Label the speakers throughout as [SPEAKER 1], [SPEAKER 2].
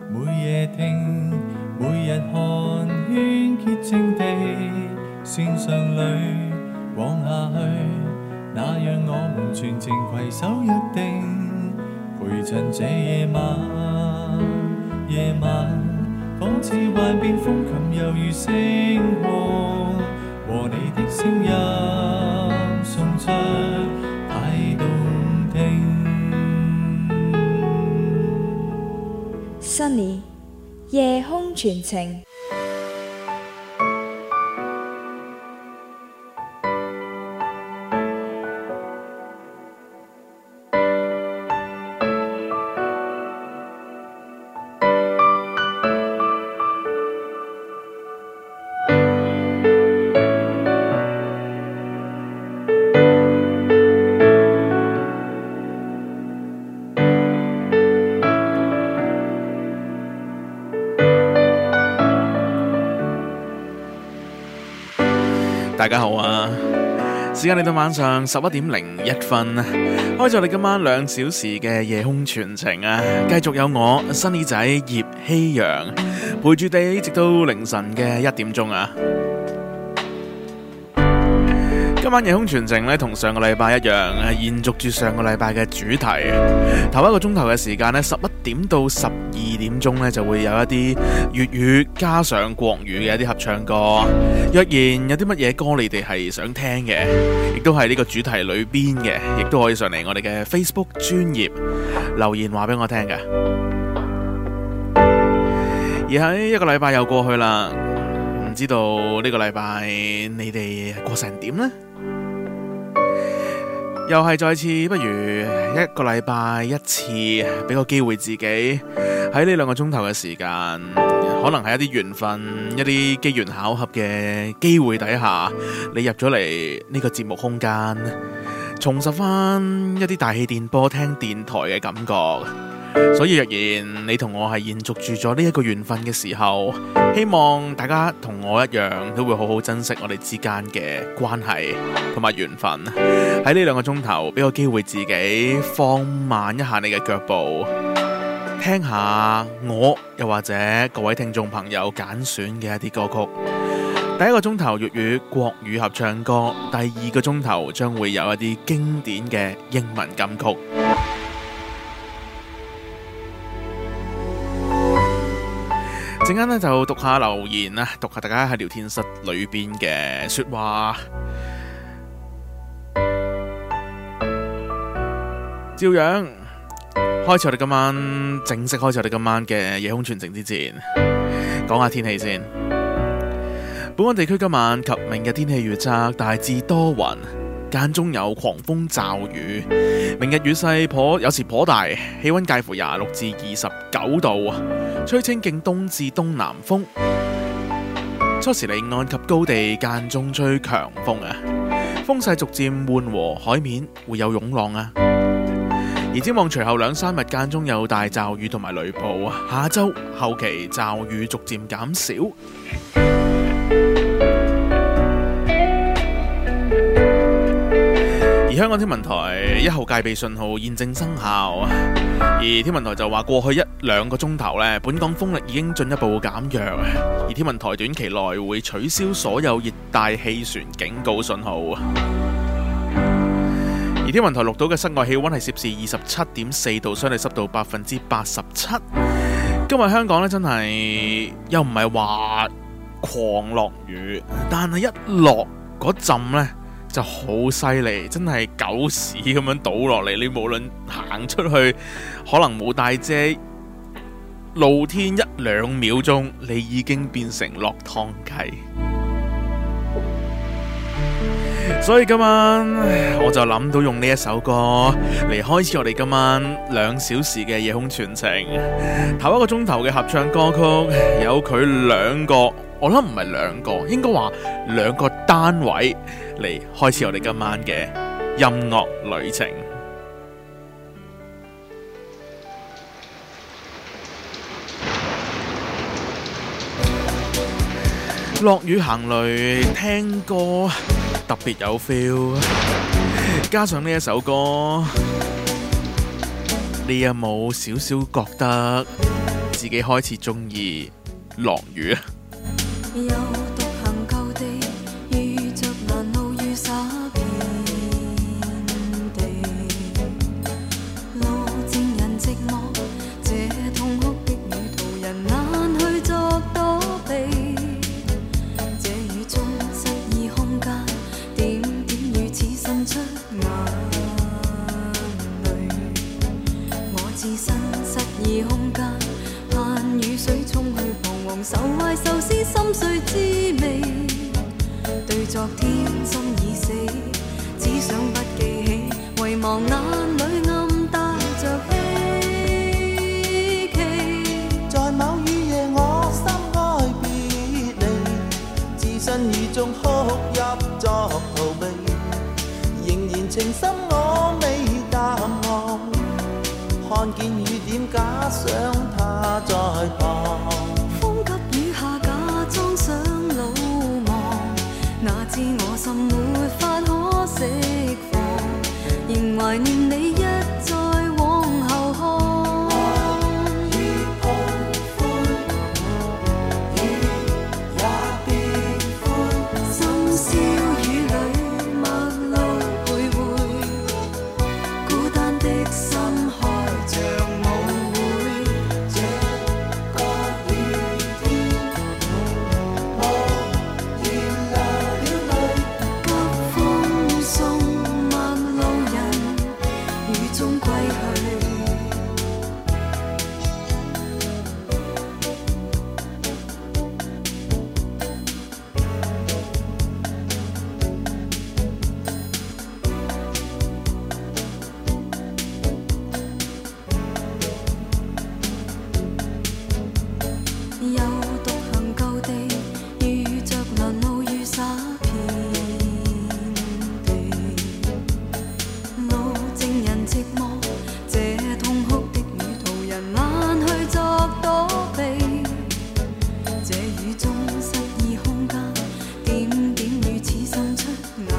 [SPEAKER 1] 每夜聽，每日看，圈潔淨地線上裏往下去，那讓我們全程攜手約定，陪襯這夜晚。夜晚仿似幻變風琴，猶如星光，和你的聲音送出太動聽。
[SPEAKER 2] Sunny 夜空傳情。
[SPEAKER 3] 大家好啊！時間嚟到晚上11:01，開咗我哋今晚2小時嘅夜空傳情啊！繼續有我Sunny仔葉希陽陪住你直到凌晨嘅1點鐘啊！今晚夜空傳情咧，同上個禮拜一樣，延續住上個禮拜嘅主題。頭一個鐘頭嘅時間咧，11點到12點鐘咧，就會有一啲粵語加上國語嘅一啲合唱歌。若然有啲乜嘢歌你哋係想聽嘅，亦都係呢個主題裏邊嘅，亦都可以上嚟我哋嘅 Facebook 專頁留言話俾我聽嘅。而喺一個禮拜又過去啦，唔知道呢個禮拜你哋過成點呢？又係再次，不如一個禮拜一次，俾個機會自己喺呢2個鐘頭嘅時間，可能係一啲緣分、一啲機緣巧合嘅機會底下，你入咗嚟呢個節目空間，重拾翻一啲大氣電波聽電台嘅感覺。所以若然你同我係延續住咗呢一個緣分嘅時候，希望大家同我一樣都會好好珍惜我哋之間嘅關係同埋緣分。喺呢2個鐘頭，俾個機會自己放慢一下你嘅腳步，聽下我又或者各位聽眾朋友揀選嘅一啲歌曲。第1個鐘頭粵語國語合唱歌，第2個鐘頭將會有一啲經典嘅英文金曲。陣間咧就讀下留言啦，讀下大家喺聊天室裏邊嘅說話。照樣開始我哋今晚正式開始我哋今晚嘅夜空傳情之前，講下天氣先。本港地區今晚及明日天氣預測大致多雲，間中有狂風驟雨。明日雨勢有時頗大，氣溫介乎26至29度，吹清勁東至東南風。初時離岸及高地間中吹強風啊，風勢逐漸緩和，海面會有湧浪啊。而展望隨後2-3日間中有大驟雨同埋雷暴，下周後期驟雨逐漸減少。而香港天文台1號戒備信號現正生效，而天文台就話過去1-2個鐘頭呢，本港風力已經進一步減弱，而天文台短期內會取消所有熱帶氣旋警告信號。而天文台錄到嘅室外氣溫係攝氏27.4度，相對濕度87%。今日香港呢，真係又唔係話狂落雨，但係一落嗰陣呢就好犀利，真係狗屎咁樣倒落嚟。你無論行出去，可能冇帶遮，露天1-2秒鐘，你已經變成落湯雞。所以今晚我就諗到用呢一首歌嚟開始我哋今晚2小時嘅夜空傳情。頭1個鐘頭嘅合唱歌曲有佢2個，我諗唔係2個，應該話2個單位嚟開始我哋今晚嘅音樂旅程。落雨行雷聽歌特別有 feel， 加上呢一首歌，你有冇少少覺得自己開始中意落雨啊。
[SPEAKER 4] 又獨行舊地，遇着難路雨灑遍地，路靜人寂寞，這痛哭的雨途人難去作躲避，這雨中失意空間，點點雨似滲出眼淚，我置身失意空間，盼雨水沖去彷徨愁懷愁思心碎滋味，對昨天心已死，只想不記起，遺忘眼裏暗帶着希冀。
[SPEAKER 5] 在某雨夜我心哀別離，置身雨中哭泣作逃避，仍然情深我未淡忘，看見雨點假想他在旁。
[SPEAKER 4] 風急雨下假裝想魯莽，哪知我心沒法可釋放，仍懷念你一再往後看。
[SPEAKER 5] 雨碰歡，雨也變歡，
[SPEAKER 4] 深宵雨裏陌路徘徊，孤單的心開着舞會，
[SPEAKER 5] 這個雨天無言流了淚。
[SPEAKER 4] 急風送陌路人，雨中歸去。又獨行舊地，遇着難路雨灑遍地，路靜人寂寞，這痛哭的雨途人難去作躲避，這雨中失意空間，點點雨似滲出眼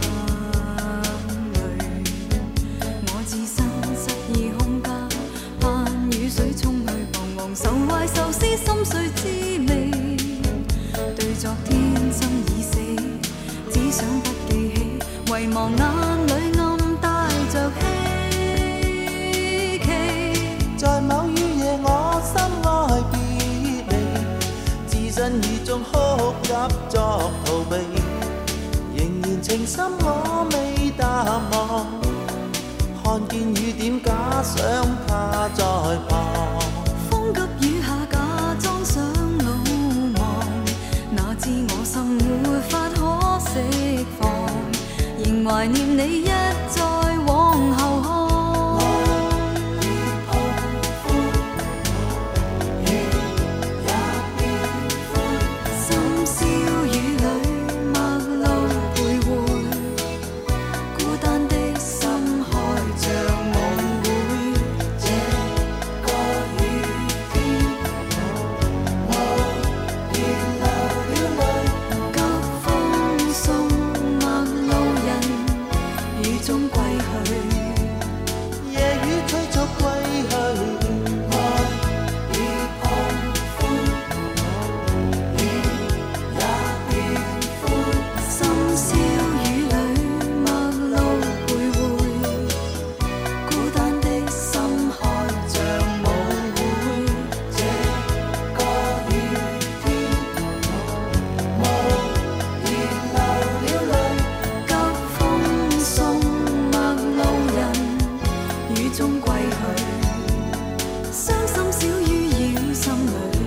[SPEAKER 4] 淚，我置身失意空間，盼雨水沖去彷徨愁懷愁思心碎滋味，對昨天心已死，只想不記起，遺忘眼裏暗帶着希冀。
[SPEAKER 5] 在某雨夜我心哀別離，置身雨中哭泣作逃避，仍然情深我未淡忘，看見雨點假想他在旁。
[SPEAKER 4] 風急雨下假裝想魯莽，哪知我心沒法可釋放，仍懷念你一再往後看。深宵雨裏陌路徘徊，孤單的心開着舞會，
[SPEAKER 5] 這個雨天無言流了淚。
[SPEAKER 4] 急風送陌路人，雨中歸去。
[SPEAKER 5] 夜雨催促歸去，愛與碰歡，雨也變歡。
[SPEAKER 4] 深宵雨裏陌路徘徊，孤單的心開着舞會，
[SPEAKER 5] 這個雨天無言流了淚。
[SPEAKER 4] 急風送陌路人，雨中歸去。傷心小雨繞心裏。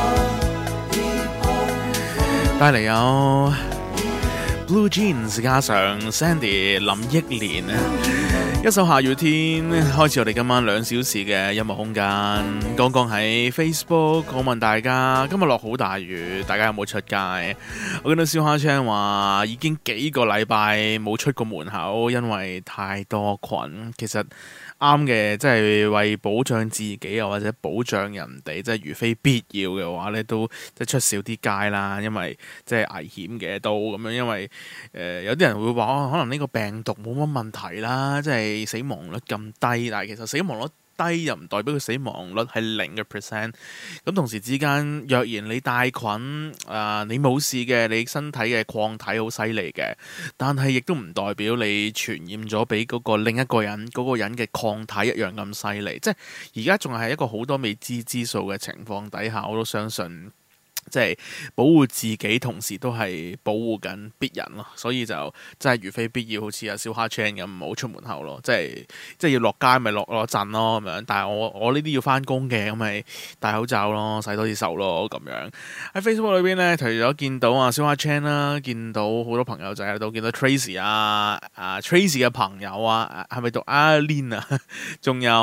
[SPEAKER 3] 帶嚟有 Blue Jeans 加上 Sandy 林憶蓮啊，一首下雨天，開始我哋今晚2小時嘅音樂空間。剛剛喺 Facebook 我問大家今日落好大雨，大家有冇出街？我見到燒蝦青話已經幾個禮拜冇出過門口，因為太多菌。其實啱嘅，即係為保障自己啊，或者保障人哋，即係如非必要嘅話咧，都即係出少啲街啦，因為即係危險嘅都咁樣。因為有啲人會話可能呢個病毒冇乜問題啦，即係死亡率咁低，但係其實死亡率低又唔代表佢死亡率係0%。咁同時之間，若然你帶菌你冇事嘅，你身體嘅抗體好犀利嘅，但係亦都唔代表你傳染咗俾嗰個另一個人，嗰個人嘅抗體一樣咁犀利。即係而家仲係一個好多未知之數嘅情況底下，我都相信。即係保護自己，同時都係保護緊別人咯，所以就真係如非必要，好似阿小蝦 Chan 咁，唔好出門口咯。即係要落街咪落陣咯咁樣。但係我呢啲要翻工嘅，咁咪戴口罩咯，洗多啲手咯咁樣。喺 Facebook 裏邊咧，除咗見到小蝦 Chan 啦，見到好多朋友仔喺度，見到 Tracy Tracy 嘅朋友係咪讀 Aline 啊？仲有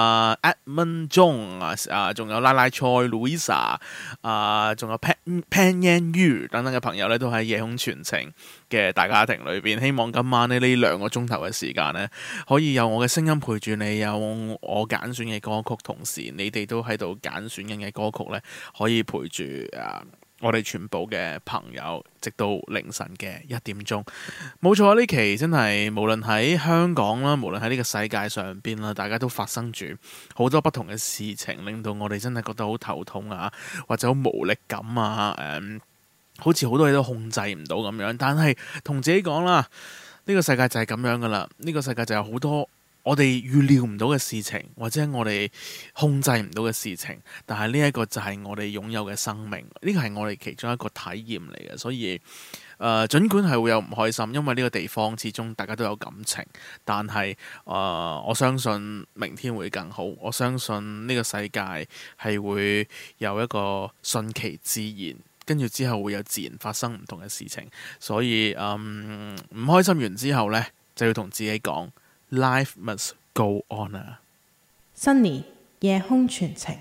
[SPEAKER 3] Edmund Jong 仲有拉拉菜 Louisa 仲有Pan Yan Yu 等等嘅朋友咧，都喺夜空傳情嘅大家庭裏邊。希望今晚呢2個鐘頭嘅時間呢，可以有我嘅聲音陪住你，有我揀選嘅歌曲，同時你哋都喺度揀選緊嘅歌曲呢，可以陪住我哋全部嘅朋友，直到凌晨嘅1點鐘。冇錯，呢期真係無論喺香港啦，無論喺呢個世界上邊啦，大家都發生住好多不同嘅事情，令到我哋真係覺得好頭痛啊，或者好無力感啊，好似好多嘢都控制唔到咁樣。但係同自己講啦，呢個世界就係咁樣噶啦，呢個世界就有好多我哋預料唔到嘅事情，或者我哋控制唔到嘅事情，但係呢一個就係我哋擁有嘅生命，呢個係我哋其中一個體驗嚟嘅。所以儘管係會有唔開心，因為呢個地方始終大家都有感情，但係我相信明天會更好，我相信呢個世界係會有一個順其自然，跟住之後會有自然發生唔同嘅事情。所以唔開心完之後呢，就要同自己講Life must go on 啊！
[SPEAKER 6] Sunny 夜空傳情。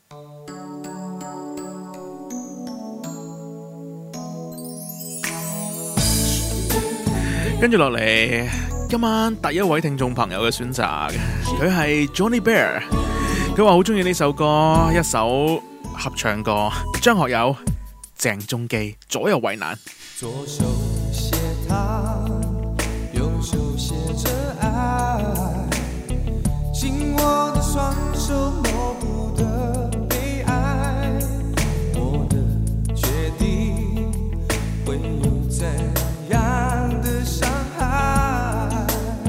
[SPEAKER 3] 跟住落嚟，今晚第一位聽眾朋友嘅選擇，佢係 Johnny Bear。佢話好中意呢首歌，一首合唱歌，張學友、鄭中基，左右為難。
[SPEAKER 1] 左手寫他，右手寫着愛，緊握的雙手模糊的悲哀，我的決定會有怎樣的傷害，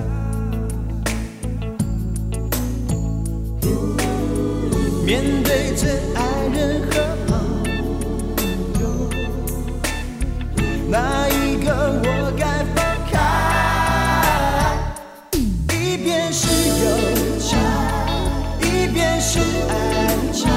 [SPEAKER 1] 面對真愛人和朋友，哪一個我該放開？一邊是友情，一邊是愛情，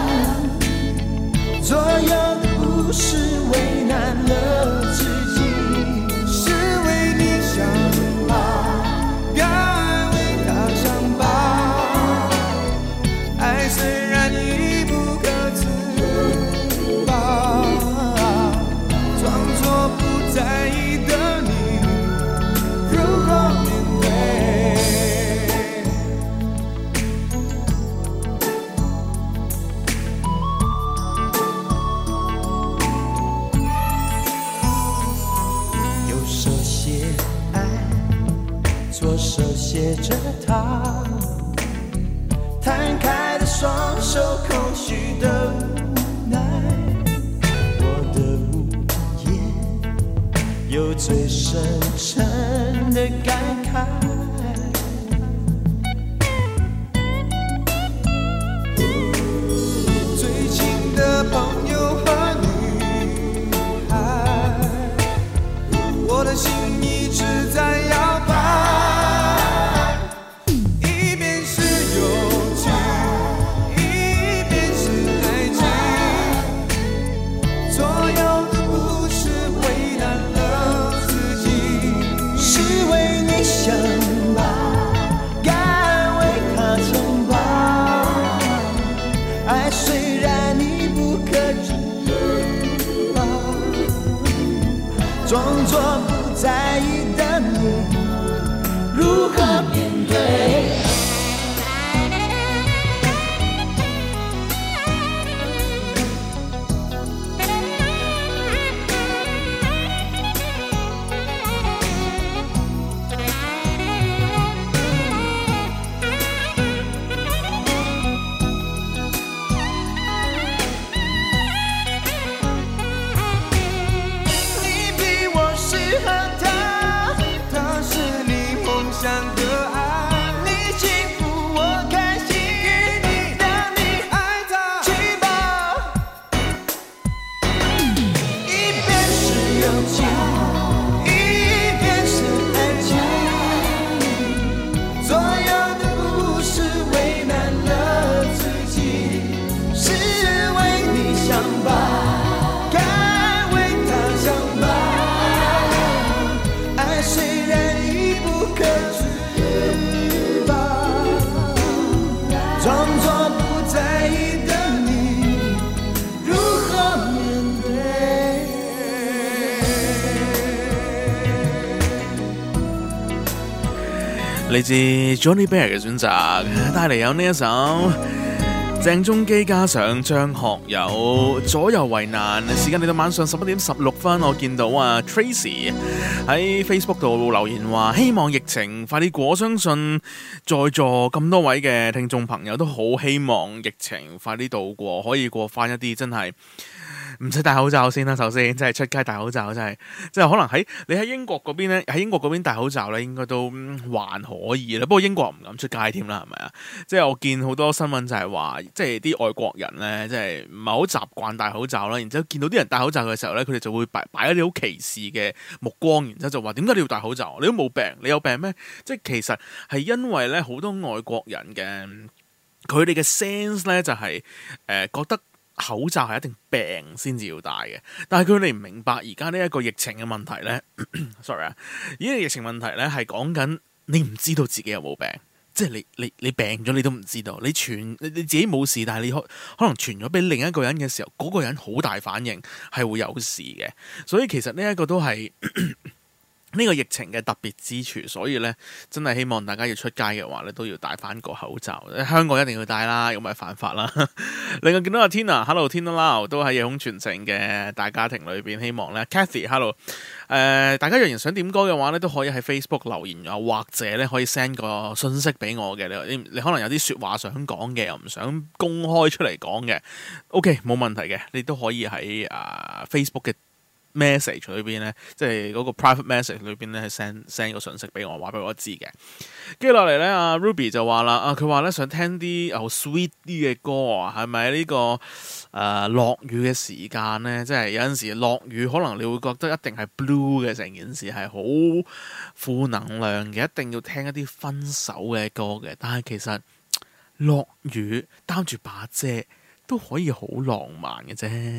[SPEAKER 1] 左右的不是為難了自己，是為你想吧，該為他想吧，愛雖然已不可自拔，裝作不在意的你如何面對？右手寫愛，左手寫着他，攤開的雙手，空虛的無奈，我的無言有最深沉的感慨，最親的朋友和女孩，我的心一直在搖擺，一邊是友情，一邊是愛情，左右的不是為難了自己，是為你想吧，該為他想吧，愛雖然你不可自拔，裝作不在意的你如何面對？
[SPEAKER 3] 嚟自 Johnny Bear 嘅選擇，帶嚟有呢一首鄭中基加上張學友左右為難。時間嚟到晚上11點16分，我見到Tracy 喺 Facebook 度留言話，希望疫情快啲過。我相信在座咁多位嘅聽眾朋友都好希望疫情快啲度過，可以過翻一啲真係唔使戴口罩先啦。首先，真係出街戴口罩真係，即係可能你喺英國嗰邊咧，喺英國嗰邊戴口罩咧，應該都還可以啦。不過英國唔敢出街添啦，係咪啊？即係我見好多新聞就係話，即係啲外國人咧，即係唔係好習慣戴口罩啦。然之後見到啲人戴口罩嘅時候咧，佢哋就會擺一啲好歧視嘅目光，然之後就話：點解你要戴口罩？你都冇病，你有病咩？即係其實係因為咧，好多外國人嘅佢哋嘅 sense 咧，就係覺得口罩係一定病先至要戴嘅，但係佢哋唔明白而家呢一個疫情嘅問題呢sorry 啊，呢個疫情問題呢係講緊你唔知道自己有冇病，即係你病咗你都唔知道，你自己冇事，但係你可能傳咗俾另一個人嘅時候，嗰個人好大反應係會有事嘅，所以其實呢一個都係呢個疫情嘅特別之處，所以咧真係希望大家要出街嘅話咧，都要戴翻個口罩。香港一定要戴啦，咁咪犯法啦。另外見到阿 Tina，Hello Tina Lau 都喺夜空傳情嘅大家庭裏邊，希望咧 Cathy，Hello， 大家若然想點歌嘅話咧，都可以喺 Facebook 留言啊，或者咧可以 send 個信息俾我嘅。你可能有啲説話想講嘅，又唔想公開出嚟講嘅，OK 冇問題嘅，你都可以喺Facebook 嘅message 裏邊咧，即係嗰個 private message 裏邊咧，係 send 個信息俾我，話俾我知嘅。跟住落嚟咧，阿 Ruby 就話啦，佢話咧想聽啲好 sweet 啲嘅歌啊，係咪呢個落雨嘅時間咧？即係有陣時落雨，可能你會覺得一定係 blue 嘅，成件事係好負能量嘅，一定要聽一啲分手嘅歌嘅。但係其實落雨擔住把遮都可以好浪漫嘅啫。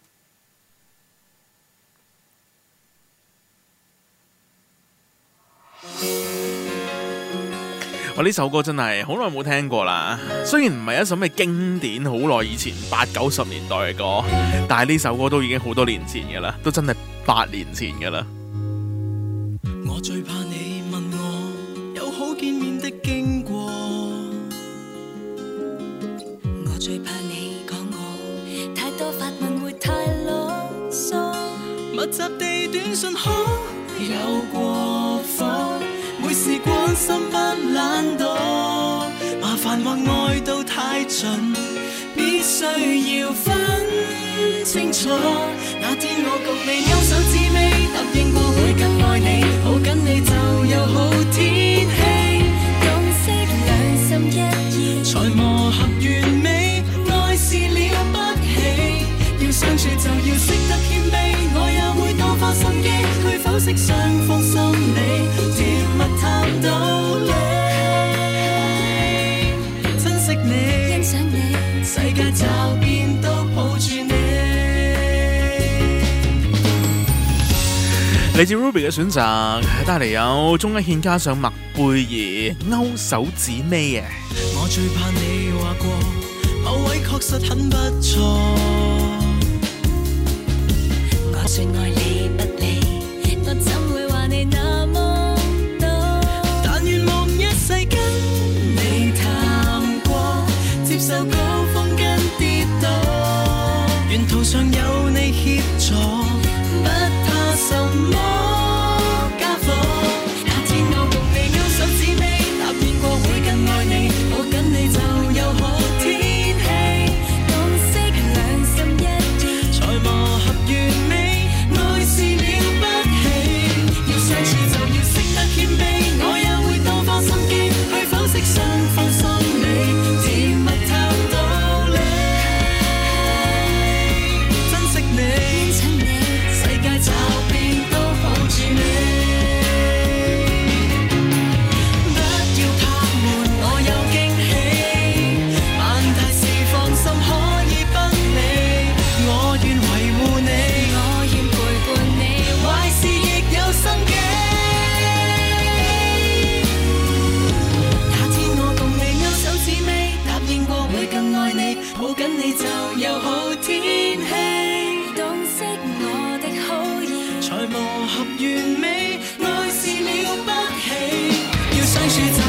[SPEAKER 3] 我呢首歌真係好耐冇聽過啦，雖然唔係一首咩經典，好耐以前80-90年代嘅歌，但係呢首歌都已經好多年前㗎啦，都真係8年前㗎啦。
[SPEAKER 7] 我最怕你問我有好見面的經過，
[SPEAKER 4] 我最怕你講我太多發問會太囉嗦，
[SPEAKER 7] 密集地短信可有過火，每事關心不懶惰，麻煩或愛到太盡，必須要分清楚。那天我共你勾手指尾，答應過會更愛你，抱緊你就有好天氣，
[SPEAKER 4] 共識兩心一意，
[SPEAKER 7] 才磨合完美，愛是了不起，要相處就要識得謙卑，我也會多花心機去剖析雙方心理，甜蜜談道理，珍惜你，
[SPEAKER 4] 欣賞你，
[SPEAKER 7] 世界驟變都抱住你。
[SPEAKER 3] 嚟自 Ruby 嘅選擇，帶嚟有鐘一憲加上麥貝兒勾手指尾啊！
[SPEAKER 7] 我最怕你話過某位確實很不錯，
[SPEAKER 4] 我說愛你不理，我怎會話你那麼多？
[SPEAKER 7] 但願望一世跟你談過，接受高峰跟跌倒，沿途上有你協助，不怕什麼家伙。那天我共你勾手指尾，答應過會更愛你，抱緊你就有好天氣，
[SPEAKER 4] 共識兩心一意，
[SPEAKER 7] 才磨合完美，愛是了不起，要相處就要識得謙卑，我也會多花心機去剖析雙方心理，甜蜜談道理，珍惜你，
[SPEAKER 4] 欣賞你，
[SPEAKER 7] 世界驟變都抱住你，不要怕悶，我有驚喜，萬大事放心可以不理，我願維護你，
[SPEAKER 4] 我願陪伴你，
[SPEAKER 7] 壞事亦有生機。那天我共你勾手指尾，答應過會更愛你，抱緊你就有好天氣，
[SPEAKER 4] 洞悉我的好意，
[SPEAKER 7] 才磨合完美，愛是了不起，要相處就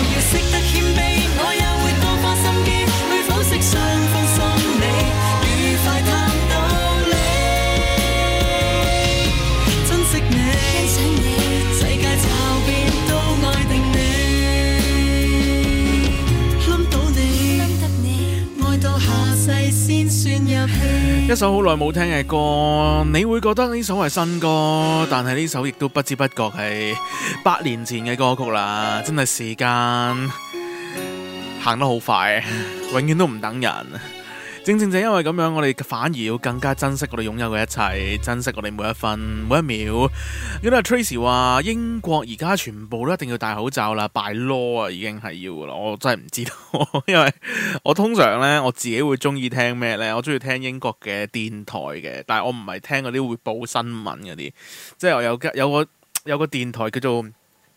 [SPEAKER 7] 世先算入戲。
[SPEAKER 3] 一首好耐冇聽嘅歌，你會覺得呢首係新歌，但係呢首亦都不知不覺係8年前嘅歌曲啦。真係時間行得好快，永遠都唔等人。正正就因為咁樣，我哋反而要更加珍惜我哋擁有嘅一切，珍惜我哋每一分每一秒。記得 Tracy 話英國而家全部都一定要戴口罩啦，by law 啊，已經係要噶啦。我真係唔知道，因為我通常呢，我自己會中意聽咩呢？我中意聽英國嘅電台嘅，但係我唔係聽嗰啲會報新聞嗰啲，即係我有個電台叫做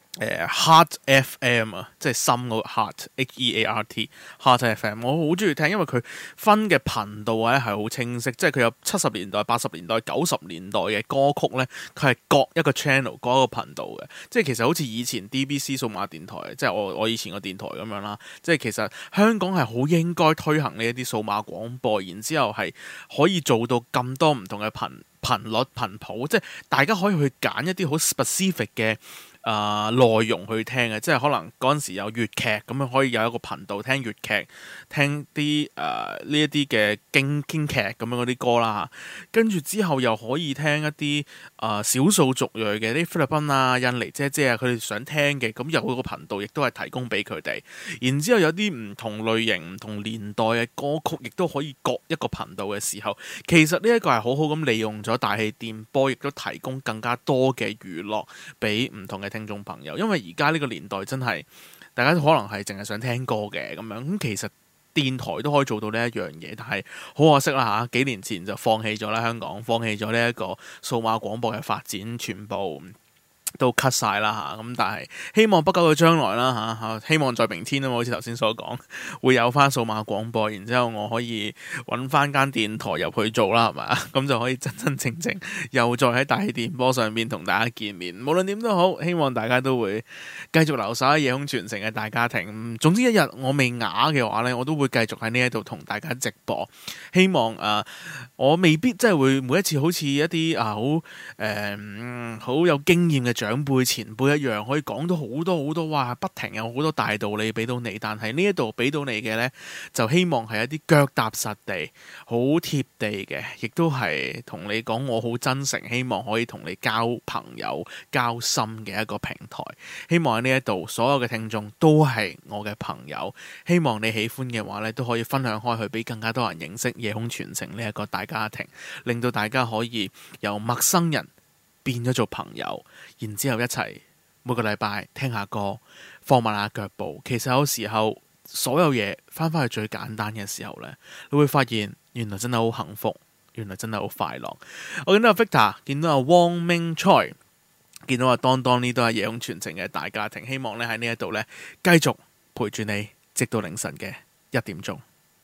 [SPEAKER 3] Heart FM 啊，即係心嗰個 Heart Heart Heart FM， 我好中意聽，因為佢分嘅頻道咧係好清晰，即係佢有70年代、80年代、90年代嘅歌曲咧，佢係各一個 channel、各一個頻道嘅，即係其實好似以前 DBC 數碼電台，即係我以前個電台咁樣啦，即係其實香港係好應該推行呢一啲數碼廣播，然之後係可以做到咁多唔同嘅頻率頻譜，即係大家可以去揀一啲好 specific 嘅內容去聽嘅，即係可能嗰陣時有粵劇咁樣，可以有一個頻道聽粵劇，聽啲呢一啲嘅京劇咁樣嗰啲歌啦，跟住之後又可以聽一啲少數族裔嘅啲菲律賓啊、印尼姐姐啊，佢哋想聽嘅，咁有嗰個頻道亦都係提供俾佢哋。然之後有啲唔同類型、唔同年代嘅歌曲，亦都可以各一個頻道嘅時候，其實呢一個係好好咁利用咗大氣電波，亦都提供更加多嘅娛樂俾唔同嘅聽眾朋友。因為而家呢個年代真係大家可能係淨係想聽歌嘅咁樣，咁其實電台都可以做到呢一樣嘢，但係好可惜啦嚇，幾年前就放棄咗啦，香港放棄咗呢一個數碼廣播嘅發展，全部都 cut 晒啦嚇，咁但係希望不久嘅將來啦嚇，希望在明天啊，好似頭先所講，會有翻數碼廣播，然之後我可以揾翻間電台入去做啦，係咪啊？咁就可以真真正正又再喺大氣電波上面同大家見面。無論點都好，希望大家都會繼續留守喺夜空傳情嘅大家庭。總之一日我未啞嘅話呢，我都會繼續喺呢一度同大家直播。希望我未必真係會每一次好似一啲好有經驗嘅長輩前輩一樣，可以講到好多好多，哇！不停有好多大道理俾到你，但係呢一度俾到你嘅呢，就希望係一啲腳踏實地、好貼地嘅，亦都係同你講我好真誠，希望可以同你交朋友、交心嘅一個平台。希望喺呢一度所有嘅聽眾都係我嘅朋友，希望你喜歡嘅話呢，都可以分享開去俾更加多人認識夜空傳情呢一個大家庭，令到大家可以由陌生人變咗做朋友，然之後一齊每個禮拜聽下歌，放慢下腳步。其實有時候所有嘢翻返去最簡單嘅時候呢，你會發現原來真係好幸福，原來真係好快樂。我見到阿 Victor， 見到阿汪明 Choi， 見到阿當當，呢都係夜空傳情嘅大家庭。希望咧喺呢一度呢，繼續陪住你直到凌晨嘅1點鐘。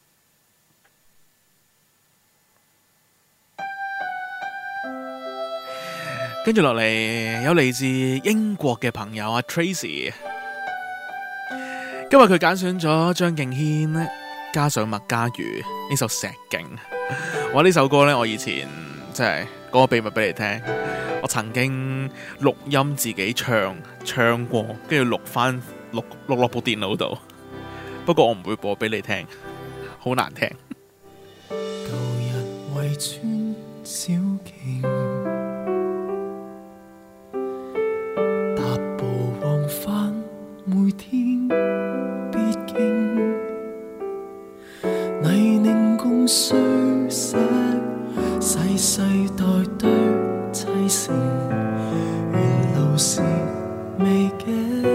[SPEAKER 3] 跟住落嚟有嚟自英國嘅朋友阿 Tracy， 今日佢揀選咗張敬軒加上麥嘉瑜呢首《石徑》。哇！呢首歌呢，我以前即係講個秘密俾你聽，我曾經錄音自己唱過，跟住錄落部電腦度。不過我唔會播俾你聽，好難聽。
[SPEAKER 1] 舊日圍村小徑，踏步往返每天必經，泥濘共碎石，世世代代砌成，沿路是未經。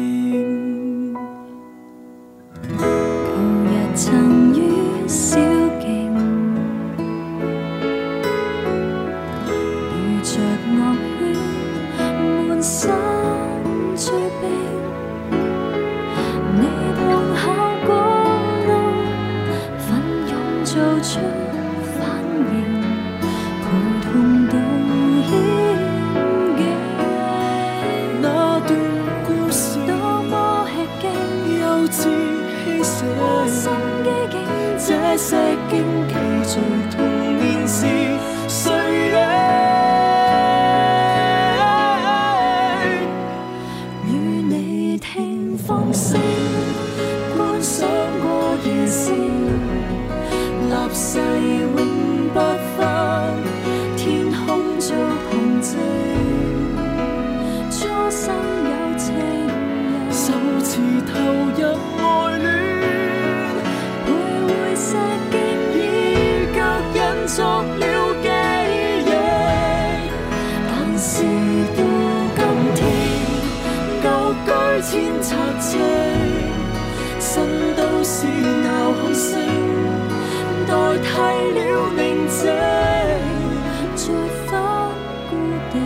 [SPEAKER 4] 舊日曾於小徑，遇着樂圈滿身追兵，你碰巧過路，奮勇做出反應，陪同到險境。
[SPEAKER 1] 那段故事
[SPEAKER 4] 多麼吃驚，
[SPEAKER 1] 幼稚犧牲，
[SPEAKER 4] 心機境
[SPEAKER 1] 這石徑記住童年時誰的
[SPEAKER 4] 與你聽風聲，觀賞過夜星，立誓永不分，天空做憑證，初生有情人，
[SPEAKER 7] 首次投入愛戀，
[SPEAKER 4] 徘徊石徑已腳印作了記憶，但是到今天，舊居千冊證，新都市鬧哄聲，代替了寧靜，再返故地，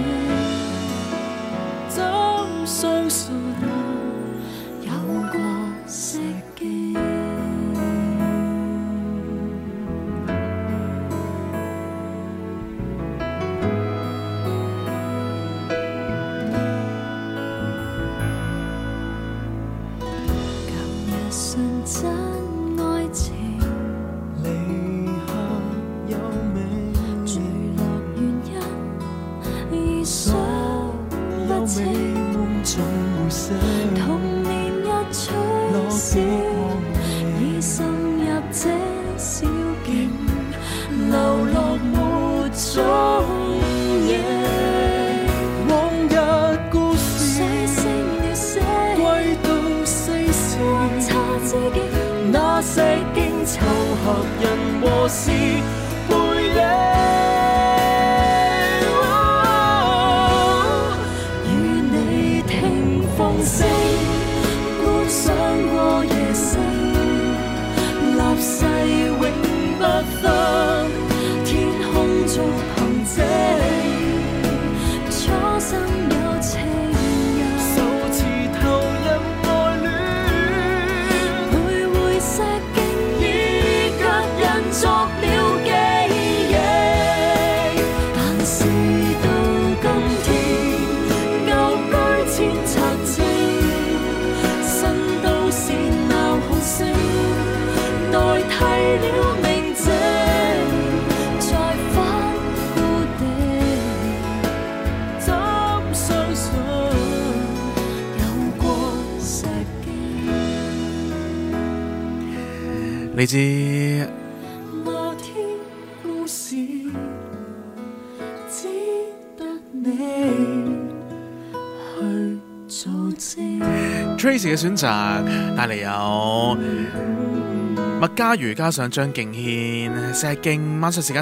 [SPEAKER 7] 怎相信
[SPEAKER 4] 有過石徑？舊日純真愛情，
[SPEAKER 7] 離合有美，
[SPEAKER 4] 墜落原因已想
[SPEAKER 7] 有美
[SPEAKER 4] 不清，
[SPEAKER 7] 夢總會醒，
[SPEAKER 4] 童年一吹
[SPEAKER 7] 落
[SPEAKER 4] 小，
[SPEAKER 7] 結
[SPEAKER 4] 已滲入這小徑，流落沒蹤影。
[SPEAKER 7] 往日故事
[SPEAKER 4] 水星了寫，
[SPEAKER 7] 歸到世事，
[SPEAKER 4] 他知己，
[SPEAKER 7] 那石徑湊合人和事背影。
[SPEAKER 4] 與你聽風聲，觀賞過夜星，立誓永不分，天空做憑證，初生有情人，
[SPEAKER 7] 首次投入愛戀，
[SPEAKER 4] 徘徊石徑已腳印作了記憶，但是到今天，舊居千冊證，新都市鬧哄聲，代替了寧靜，再返故地，
[SPEAKER 7] 怎相信
[SPEAKER 4] 有過石徑。
[SPEAKER 3] 你知
[SPEAKER 7] 那天故事，只得你去做證。
[SPEAKER 3] Tracy 嘅選擇帶嚟有麥嘉瑜加上張敬軒石徑，晚上時間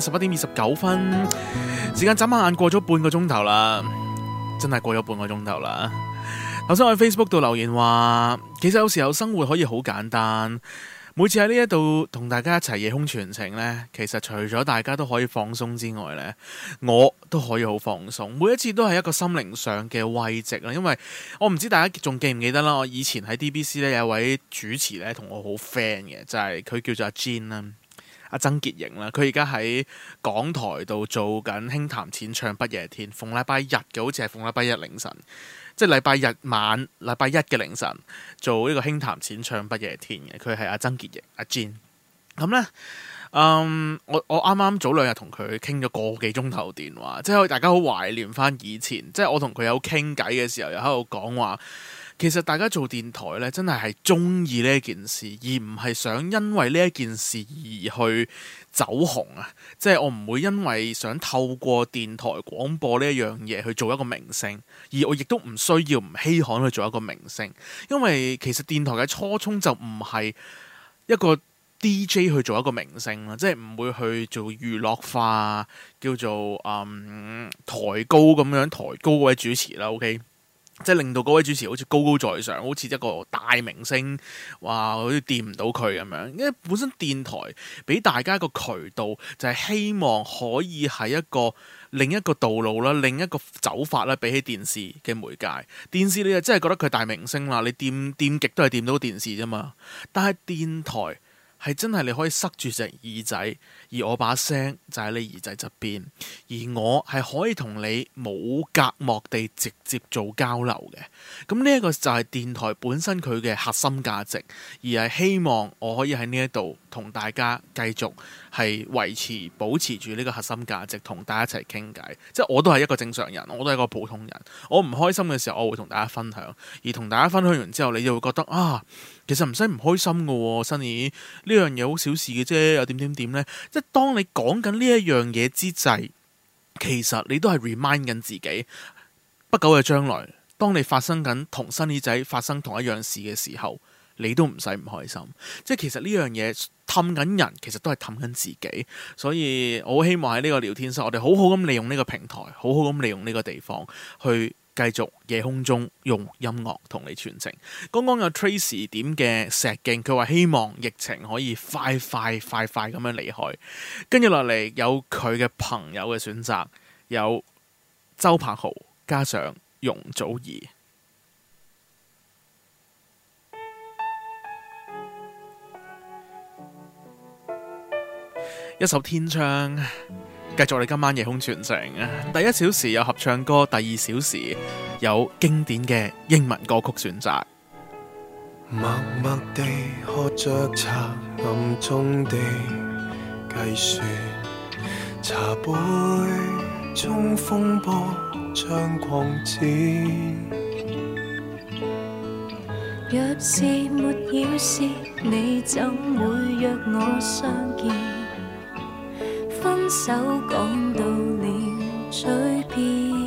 [SPEAKER 3] 11:29，時間眨下眼過咗半個鐘頭啦，真係過咗半個鐘頭啦。頭先我喺 Facebook 度留言話，其實有時候生活可以好簡單。每次喺呢一度同大家一齊夜空傳情呢，其實除咗大家都可以放鬆之外呢，我都可以好放鬆。每一次都係一個心靈上嘅慰藉啦。因為我唔知大家仲記唔記得啦，我以前喺 DBC 呢有一位主持呢同我好 friend 嘅，就係佢叫做阿 Jean 啦，阿曾潔瑩啦。佢而家喺港台度做緊輕談淺唱不夜天，逢禮拜日嘅，好似係逢禮拜一凌晨。即係禮拜日晚、禮拜一嘅凌晨做呢個輕談淺唱不夜天嘅，佢係阿曾潔瑩阿 Jean。咁呢，我啱啱早兩日同佢傾咗個幾鐘頭電話，即係大家好懷念翻以前，即係我同佢有傾偈嘅時候，又喺度講話，其實大家做電台呢，真係中意呢一件事，而唔係想因為呢一件事而去走紅啊！即係我唔會因為想透過電台廣播呢一樣嘢去做一個明星，而我亦都唔需要唔稀罕去做一個明星，因為其實電台嘅初衷就唔係一個 DJ 去做一個明星啦，即係唔會去做娛樂化，叫做抬高咁樣抬高嗰位主持啦。OK。即係令到嗰位主持好似高高在上，好似一個大明星，哇！好似掂唔到佢咁樣。因為本身電台俾大家一個渠道，就係希望可以係一個另一個道路啦，另一個走法啦。比起電視嘅媒介，電視你就真係覺得佢大明星啦，你掂極都係掂到電視啫嘛。但係電台係真係你可以塞住隻耳仔，而我把聲就喺你耳仔側邊，而我係可以同你冇隔膜地直接做交流嘅。咁呢一個就係電台本身佢嘅核心價值，而係希望我可以喺呢一度同大家繼續係保持住呢個核心價值，同大家一齊傾偈。即係我都係一個正常人，我都係一個普通人。我唔開心嘅時候，我會同大家分享，而同大家分享完之後，你就會覺得啊，其實唔使唔開心㗎喎，Sunny。 呢樣嘢好小事嘅啫，又點呢？即係當你講緊呢一樣嘢之際，其實你都係 remind 緊自己，不久嘅將來，當你發生緊同Sunny仔發生同一樣事嘅時候，你都唔使唔開心。即係其實呢樣嘢氹緊人，其實都係氹緊自己。所以我好希望喺呢個聊天室，我哋好好咁利用呢個平台，好好咁利用呢個地方去繼續夜空中用音樂同你傳情。剛剛有 Tracy 點嘅石徑，佢話希望疫情可以快咁樣離開。跟住落嚟有佢嘅朋友嘅選擇，有周柏豪加上容祖兒。一首天窗，繼續我哋今晚夜空傳情。第一小時有合唱歌，第二小時有經典嘅英文歌曲選擇。
[SPEAKER 8] 默默地喝着茶，暗中地計算，茶杯中風波將擴展。
[SPEAKER 4] 若是沒要事，你怎會約我相見？分手講到了嘴邊，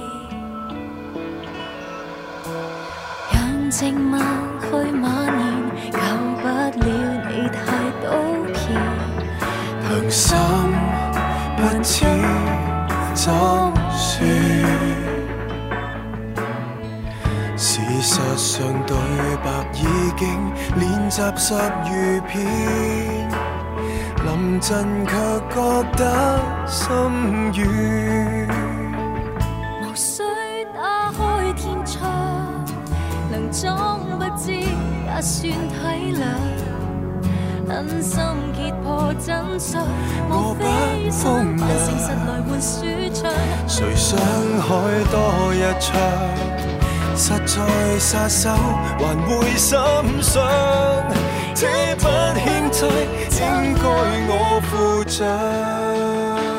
[SPEAKER 4] 讓靜默去蔓延，救不了你太刀劍。
[SPEAKER 8] 良心不知怎說，事實上對白已經練習10餘遍，臨陣卻覺得心軟。
[SPEAKER 4] 無需打開天窗，能裝不知也算體諒。狠心揭破真相，無非想扮誠實來換舒暢。
[SPEAKER 8] 誰想開多一場，實在撒手還會心傷。這筆欠債應該我負責。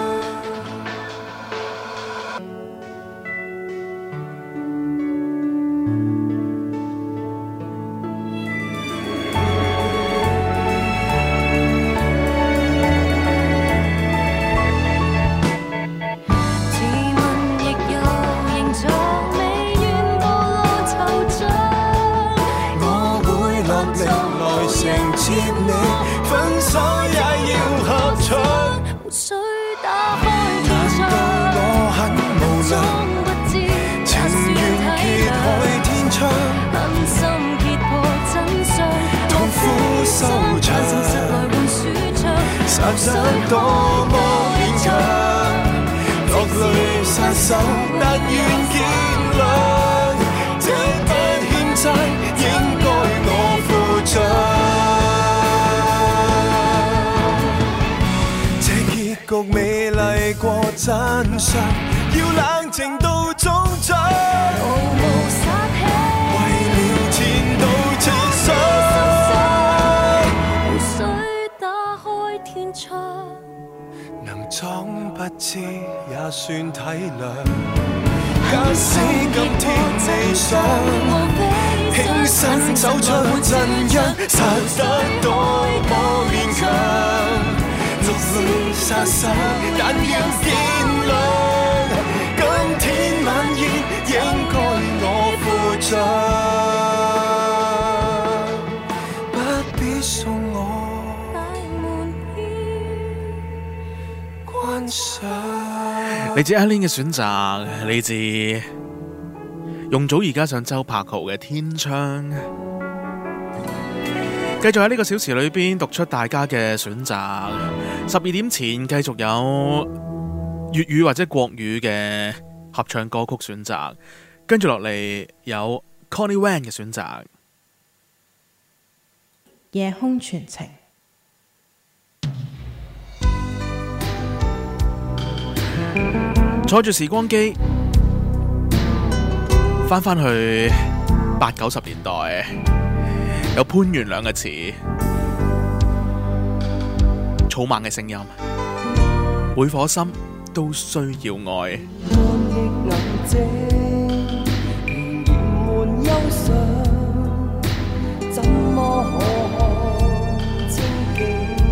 [SPEAKER 8] 殺得多麼勉強，落淚殺手，但願見諒。這筆欠債應該我負責。這結局美麗過真相，要冷靜到終章。
[SPEAKER 4] 毫無殺氣，
[SPEAKER 8] 為了前度設想。能裝不知也算體諒，假使今天理想，輕身走出陣因，殺得多麼勉強，落淚殺手，但要見諒。今天晚宴應該我負責，不必送我。
[SPEAKER 3] 嚟自阿 Lin 嘅選擇，嚟自容祖兒加上周柏豪嘅天窗。繼續喺呢個小時裏邊讀出大家嘅選擇。12點前繼續有粵語或者國語嘅合唱歌曲選擇，跟住落嚟有 Connie Wan 嘅選擇。
[SPEAKER 6] 夜空傳情。
[SPEAKER 3] 坐住時光機，翻去80、90年代，有潘源兩個詞，草蜢嘅聲音，每顆心都需要愛。
[SPEAKER 9] 怎麼可清境？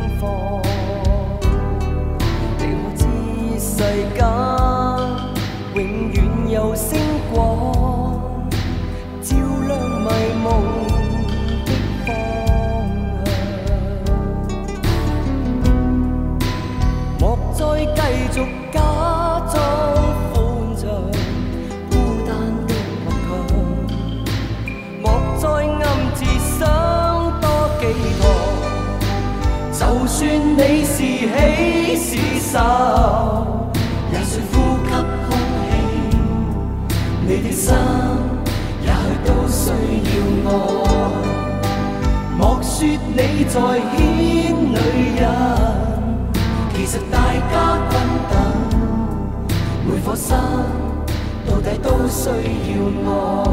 [SPEAKER 9] 間永遠有星光，照亮迷夢的方向。莫再繼續假裝歡暢，孤單的倔強，莫再暗自想多寄託。就算你是喜是愁，也需呼吸空氣，你的心也許都需要愛。莫說你在牽女人，其實大家均等，每顆心到底都需要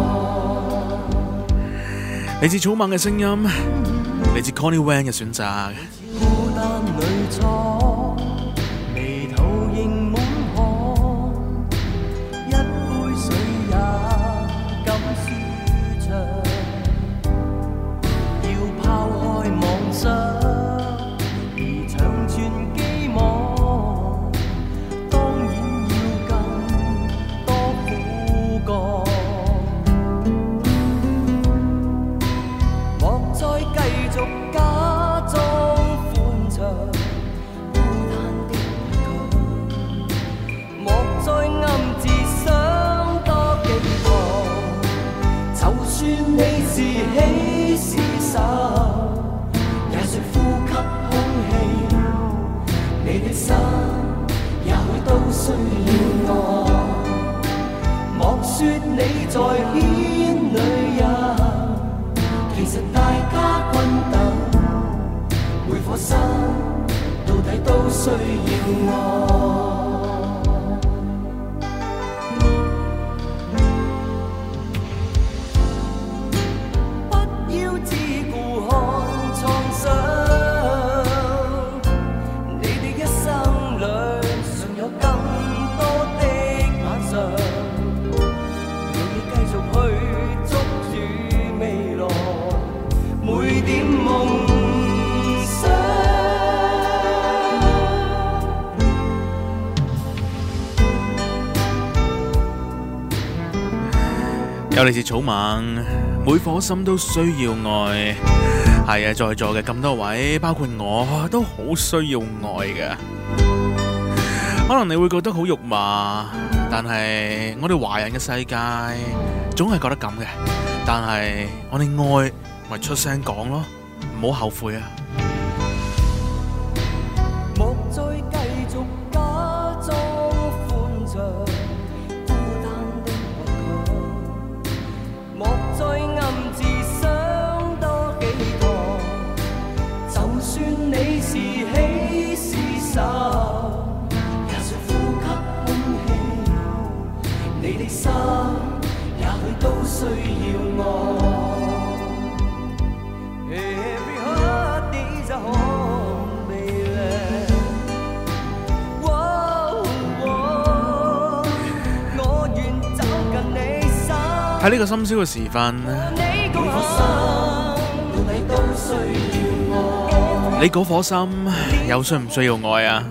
[SPEAKER 9] 愛。
[SPEAKER 3] 嚟自草蜢嘅聲音，嚟自 Connie Wang 嘅選擇。
[SPEAKER 9] 孤單裏坐，眉頭仍滿汗，一杯水也敢舒暢。要拋開妄想，而長存寄望，當然要更多苦幹。莫再繼續假裝歡暢，孤單的倔強，莫再暗自想多寄託。就算你是喜是愁，也需呼吸空氣，你的心也許都需要愛。莫說你在牽女人，其實大家均等，每顆心到底都需要愛。不要只顧看創傷，你的一生裏尚有更多的晚上，讓你繼續去捉住未來每點夢想。
[SPEAKER 3] 有嚟自草蜢，每顆心都需要愛。係啊，在座嘅咁多位，包括我都好需要愛嘅。可能你會覺得好肉麻，但係我哋華人嘅世界總係覺得咁嘅。但係我哋愛咪出聲講咯，唔好後悔啊！
[SPEAKER 9] 莫再繼續假裝歡暢，孤單的倔強，莫再暗自想多寄託。就算你是喜是愁，也需呼吸空氣，你的心也許都需要愛。Every heart needs a home, baby. 我願走近你心。
[SPEAKER 3] 喺呢個深宵嘅時分，你嗰顆心又需唔需要愛啊？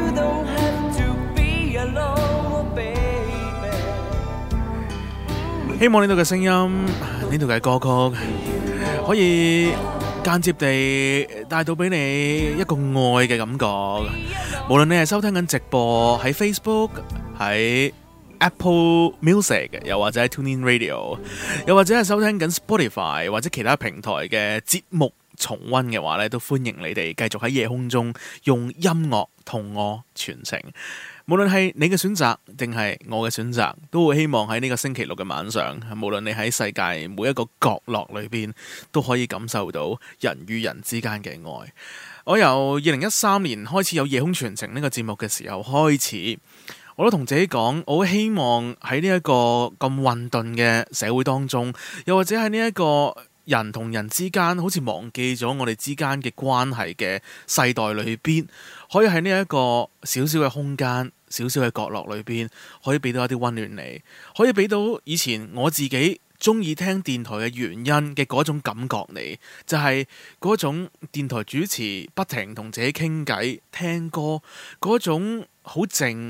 [SPEAKER 3] 希望呢度嘅聲音，呢度嘅歌曲，可以間接地帶到俾你一個愛嘅感覺。無論你係收聽緊直播喺 Facebook、喺 Apple Music， 又或者喺 TuneIn Radio， 又或者係收聽緊 Spotify 或者其他平台嘅節目重溫嘅話咧，都歡迎你哋繼續喺夜空中用音樂同我傳情。無論係你嘅選擇定係我嘅選擇，都會希望喺呢個星期六嘅晚上，無論你喺世界每一個角落裏邊，都可以感受到人與人之間嘅愛。我由2013年開始有夜空傳情呢個節目嘅時候開始，我都同自己講，我好希望喺呢一個咁混沌嘅社會當中，又或者喺呢一個人同人之間好似忘記咗我哋之間嘅關係嘅世代裏邊，可以喺呢一個小小嘅空間、小小嘅角落裏邊，可以俾到一啲溫暖你，可以俾到以前我自己中意聽電台嘅原因嘅嗰種感覺你，就係嗰種電台主持不停同自己傾偈、聽歌嗰種好靜、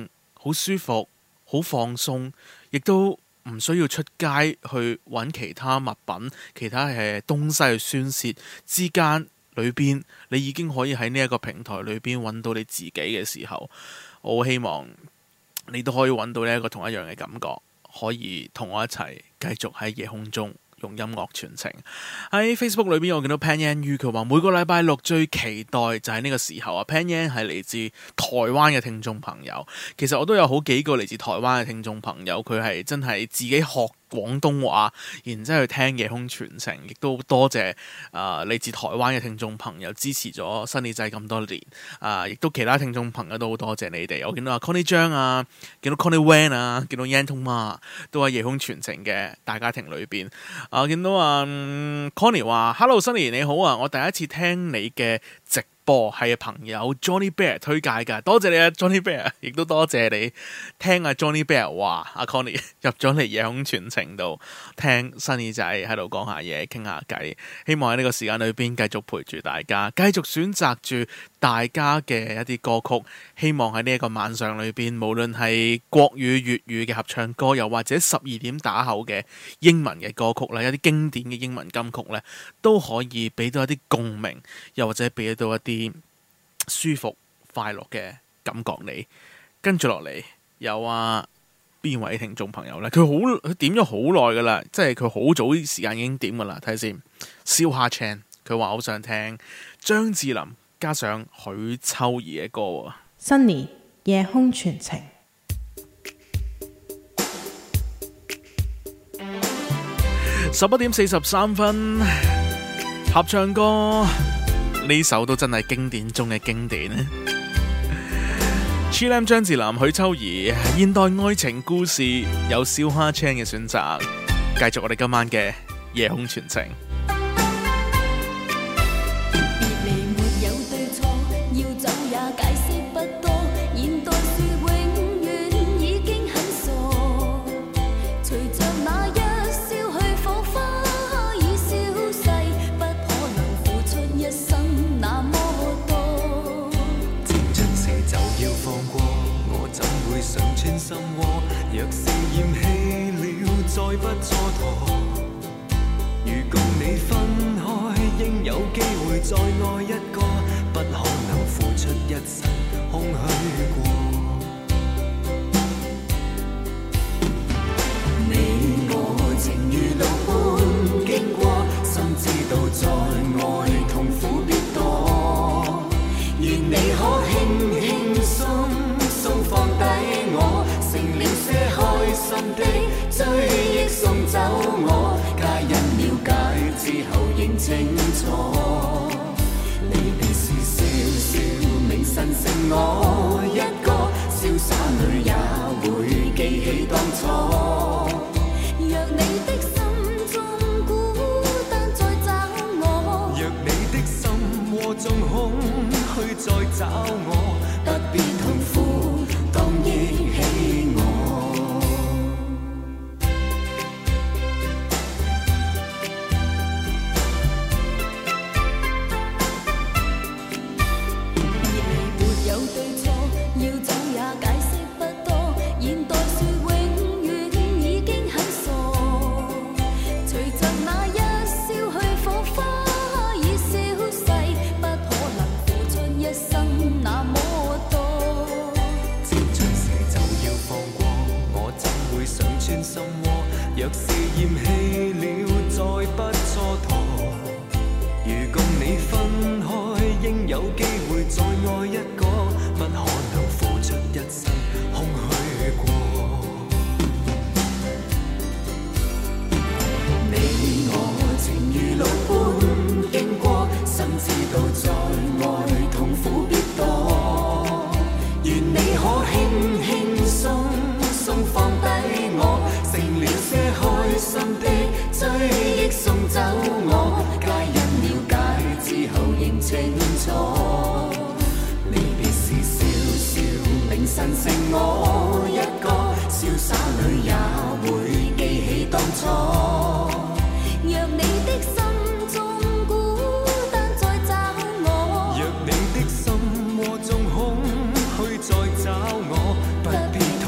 [SPEAKER 3] 好舒服、好放鬆，亦都唔需要出街去揾其他物品、其他東西去宣泄之間裏邊，你已經可以喺呢一個平台裏邊揾到你自己嘅時候，我好希望你都可以揾到呢一個同一樣嘅感覺，可以同我一齊繼續喺夜空中用音樂傳情。喺 Facebook 裏邊我見到 Pan Yan Yu 佢話每個禮拜六最期待就係呢個時候啊。Pan Yan 係嚟自台灣嘅聽眾朋友，其實我都有好幾個嚟自台灣嘅聽眾朋友，佢係真係自己學廣東話，然之後去聽夜空傳情，亦都多謝嚟自台灣嘅聽眾朋友支持咗新李仔咁多年，亦都其他聽眾朋友都好多謝你哋。我見到阿 Connie 張啊，見到 Connie Wan 啊，見到 Yan Tong Ma 都喺夜空傳情嘅大家庭裏邊。我見到Connie 話 Hello Sunny 你好啊，我第一次聽你嘅直播係朋友 Johnny Bear 推介㗎，多謝你啊 Johnny Bear， 亦都多謝你聽阿 Johnny Bear 話阿 Connie 入咗嚟夜空傳情度聽新耳仔喺度講下嘢傾下偈，希望喺呢個時間裏邊繼續陪住大家，繼續選擇住大家嘅一啲歌曲，希望喺呢一個晚上裏邊，無論係國語粵語嘅合唱歌，又或者12點打後嘅英文嘅歌曲咧，一啲經典嘅英文金曲咧，都可以俾到一啲共鳴，又或者俾到一啲舒服快樂嘅感覺你。跟住落嚟有邊位聽眾朋友呢？佢點咗好耐噶啦，即係佢好早時間已經點噶啦。睇下先，燒蝦 Chan 佢話好想聽張智霖加上許秋怡嘅歌啊。
[SPEAKER 6] Sunny 夜空傳情。
[SPEAKER 3] 11點43分，合唱歌呢首都真係經典中嘅經典。Chilam 張智霖、許秋怡，現代愛情故事有燒蝦 Chan 嘅選擇，繼續我哋今晚嘅夜空傳情。
[SPEAKER 8] 心窩，若是厭棄了，再不蹉跎。如共你分開，應有機會再愛一個，不可能付出一生空虛過。你我情如路般經過，心知道在愛痛苦必多。願你可輕輕鬆放低我，成了些開心的追憶送走我，皆因了解之後認清楚，離別時笑笑明晨剩我一個，瀟灑裏也會記起當初。若你的心中孤單再找我，若你的心窩中空虛再找我，不必痛苦當憶起我。沒有對錯，要走也解釋不多，現代說永遠已經很傻，隨着那一消去火花已消逝，不可能付出一生那麼多。接着時就要放過，我怎會想穿心窩？若是厭棄了，再不蹉跎。如共你分開，應有機會再愛一個，不可能付出一生空虛過。你我情如路般經過，心知道在愛痛苦必多。願你可輕輕鬆放低我，成了些開心的追憶送走我，皆因了解之後認清楚。離別時笑笑明晨剩我一個，瀟灑裏也會記起當初。若你的心中孤單再找我，若你的心窩中空虛再找我，不必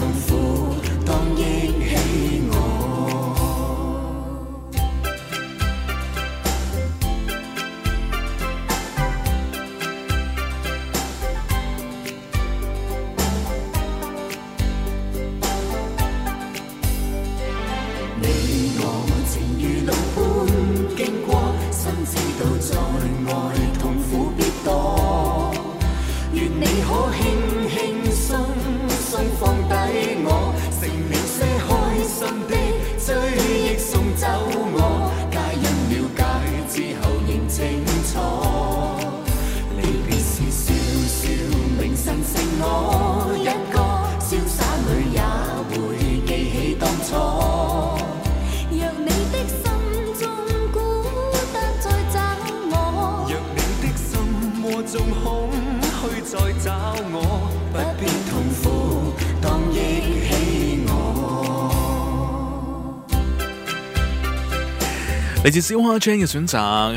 [SPEAKER 3] 嚟自小蝦 Jane 嘅選擇，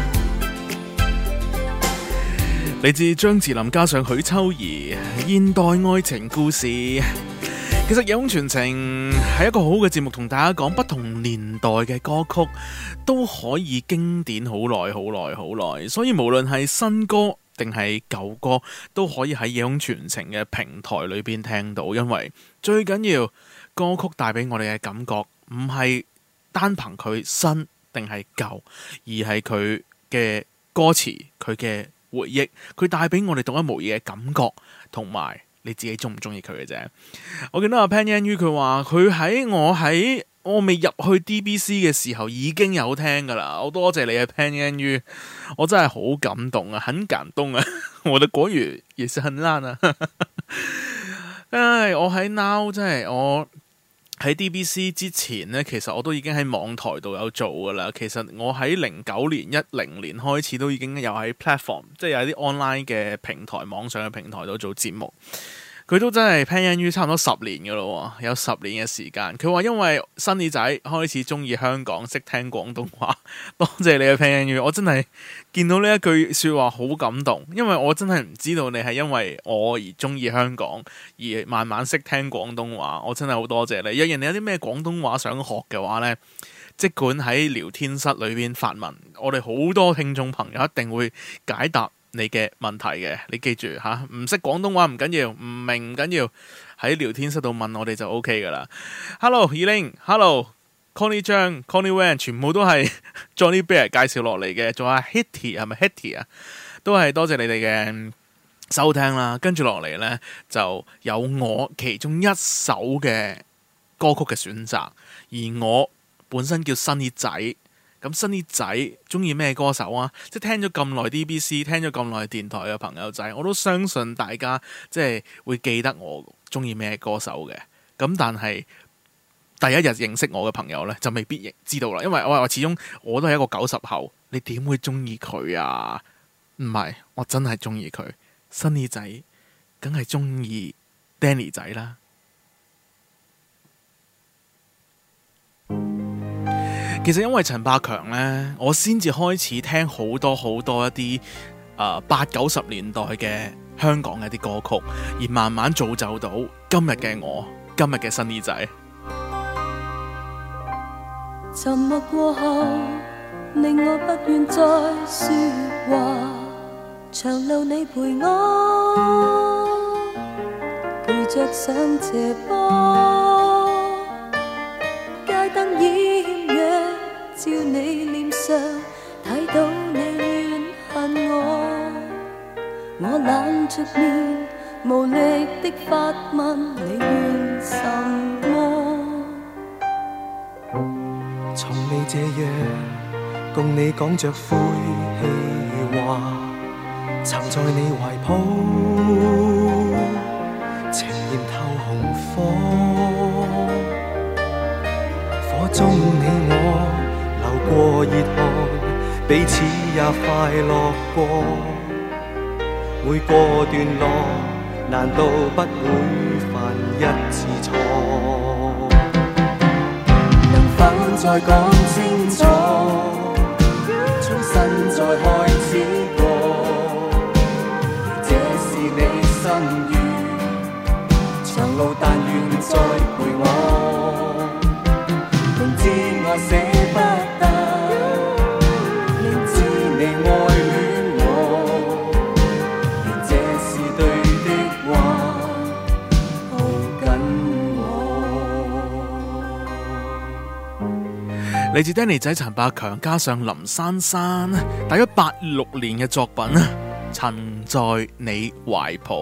[SPEAKER 3] 嚟自張智霖加上許秋怡現代愛情故事。其實夜空傳情係一個好嘅節目，同大家講不同年代嘅歌曲都可以經典好耐好耐好耐，所以無論係新歌定係舊歌都可以喺夜空傳情嘅平台裏邊聽到，因為最緊要歌曲帶俾我哋嘅感覺唔係單憑佢新定係舊，而係佢嘅歌詞、佢嘅回憶，佢帶俾我哋獨一無二嘅感覺，同埋你自己中唔中意佢嘅啫。我見到阿 Pan Yan Yu 佢話佢喺我未入去 DBC 嘅時候已經有聽噶啦，好多謝你啊 Pan Yan Yu，我真係好感動啊，很感動啊，我的國語也是很爛啊。唉，我喺 Now 真係我喺 DBC 之前呢，其實我都已經喺網台度有做噶啦。其實我喺09年、10年開始都已經有喺 platform， 即係有啲 online 嘅平台、網上嘅平台度做節目。佢都真係 Pan Yan Yu 差唔多10年噶咯，有10年嘅時間。佢話因為新耳仔開始中意香港，識聽廣東話。多謝你嘅 Pan Yan Yu，我真係見到呢一句說話好感動，因為我真係唔知道你係因為我而中意香港，而慢慢識聽廣東話。我真係好多謝你。若然你有啲咩廣東話想學嘅話呢，即管喺聊天室裏邊發問，我哋好多聽眾朋友一定會解答你嘅問題嘅。你記住吓，唔識廣東話唔緊要，唔明唔緊要，喺聊天室度問我哋就 OK 噶啦。Hello Elaine，Hello Connie 張 Connie Wan， 全部都係 Johnny Bear 介紹落嚟嘅，仲有 Hitty 係咪 Hitty 啊？都係多謝你哋嘅收聽啦。跟住落嚟呢，就有我其中一首嘅歌曲嘅選擇，而我本身叫新耳仔。咁新耳仔中意咩歌手啊？即係聽咗咁耐 DBC， 聽咗咁耐電台嘅朋友仔，我都相信大家即係會記得我中意咩歌手嘅。咁但係第一日認識我嘅朋友呢，就未必知道啦，因為我始終我都係一個90後，你點會中意佢啊？唔係，我真係中意佢。新耳仔梗係中意 Danny 仔啦。其實因為陳百強呢，我先至開始聽好多一啲80-90年代嘅香港嘅啲歌曲，而慢慢造就到今日嘅我，今日嘅新耳仔。
[SPEAKER 4] 沉默過後，令我不願再說話，長路你陪我，陪着上斜坡，街燈艷陽照你臉上，睇到你怨恨我，我冷着面無力的發問你怨什麼？
[SPEAKER 8] 從你這樣共你講着晦氣話，曾在你懷抱情豔透紅火，火中你我流過熱汗，彼此也快樂過，每個段落難道不會犯一次錯？再講清楚，重新再開始過，這是你心願，長路但願再陪我，明知我捨不得，明知你愛戀我，願這是對的話，抱緊
[SPEAKER 3] 嚟自 Danny 仔陳百強加上林珊珊，大約86年嘅作品《曾在你懷抱》。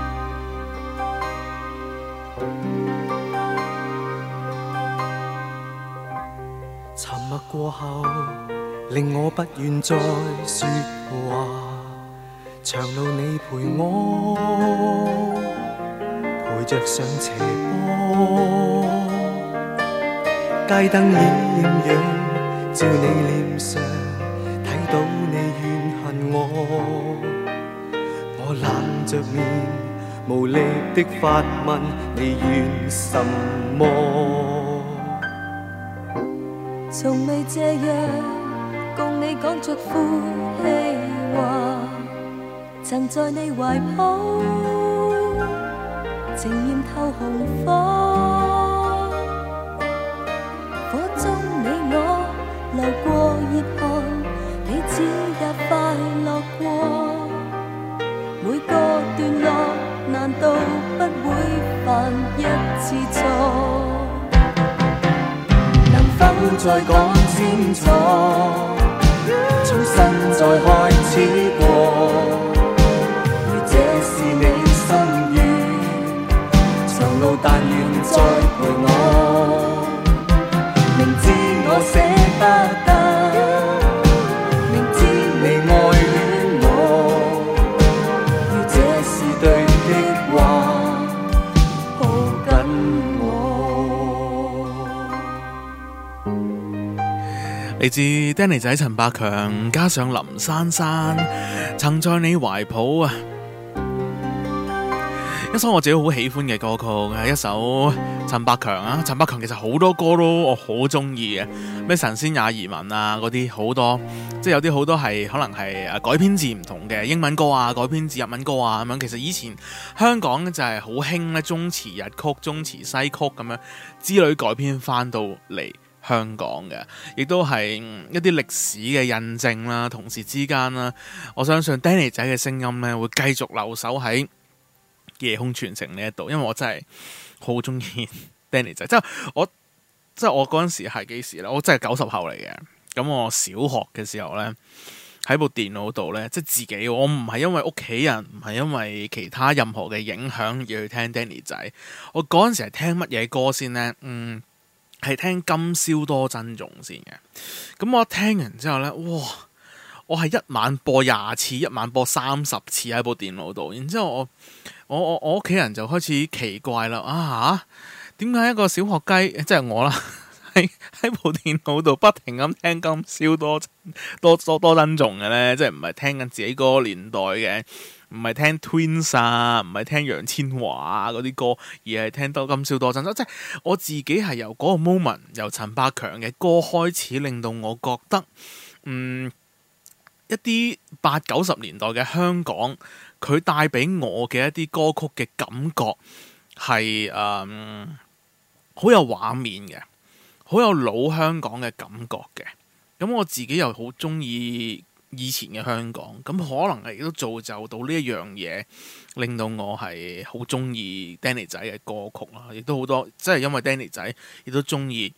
[SPEAKER 8] 沉默過後，令我不願再說話，長路你陪我，陪着上斜坡，街燈艷陽照你臉上，睇到你怨恨我，我冷着面無力的發問你怨什麼？
[SPEAKER 4] 從未這樣共你講出呼氣話，曾在你懷抱情豔透紅火，火中你我流過熱汗，彼此也快樂過，每個段落難道不會犯一次錯？能否再講清楚，重新再開始過？如這是你心願，長路但願再陪我。明知我捨不得，明知你愛戀我，如這是對的話，抱緊我。
[SPEAKER 3] 嚟自 Danny 仔陳百強加上林珊珊，曾在你懷抱啊！一首我自己好喜歡嘅歌曲，係一首陳百強啊。陳百強其實好多歌都我好中意嘅，咩神仙也移民啊嗰啲好多，即係有啲好多係可能係改編自唔同嘅英文歌啊，改編自日文歌啊咁樣。其實以前香港就係好興咧中詞日曲、中詞西曲咁樣之類改編翻到嚟香港嘅，亦都係一啲歷史嘅印證啦。同時之間啦，我相信 Danny 仔嘅聲音咧會繼續留守喺夜空傳情呢一度，因為我真係好中意 Danny 仔，即係我嗰陣時係幾時咧？我真係90後嚟嘅。咁我小學嘅時候咧，喺部電腦度咧，即係自己，我唔係因為屋企人，唔係因為其他任何嘅影響而去聽 Danny 仔。我嗰陣時係聽乜嘢歌先咧？係聽今宵多珍重先嘅。咁我聽完之後咧，哇！我係一晚播20次，一晚播30次喺部電腦度。然之後我屋企人就開始奇怪啦，啊點解一個小學雞，即係我啦，喺部電腦度不停咁聽今宵多珍重嘅咧？即係唔係聽緊自己嗰個年代嘅，唔係聽 Twins 啊，唔係聽楊千嬅啊嗰啲歌，而係聽多今宵多珍重。即係我自己係由嗰個 moment， 由陳百強嘅歌開始，令到我覺得一啲80-90年代嘅香港，佢帶俾我嘅一啲歌曲嘅感覺係好有畫面嘅，好有老香港嘅感覺嘅。咁我自己又好中意以前嘅香港，咁可能係亦都造就到呢一樣嘢，令到我係好中意 Danny 仔嘅歌曲啦。亦都好多，即係因為 Danny 仔亦都中意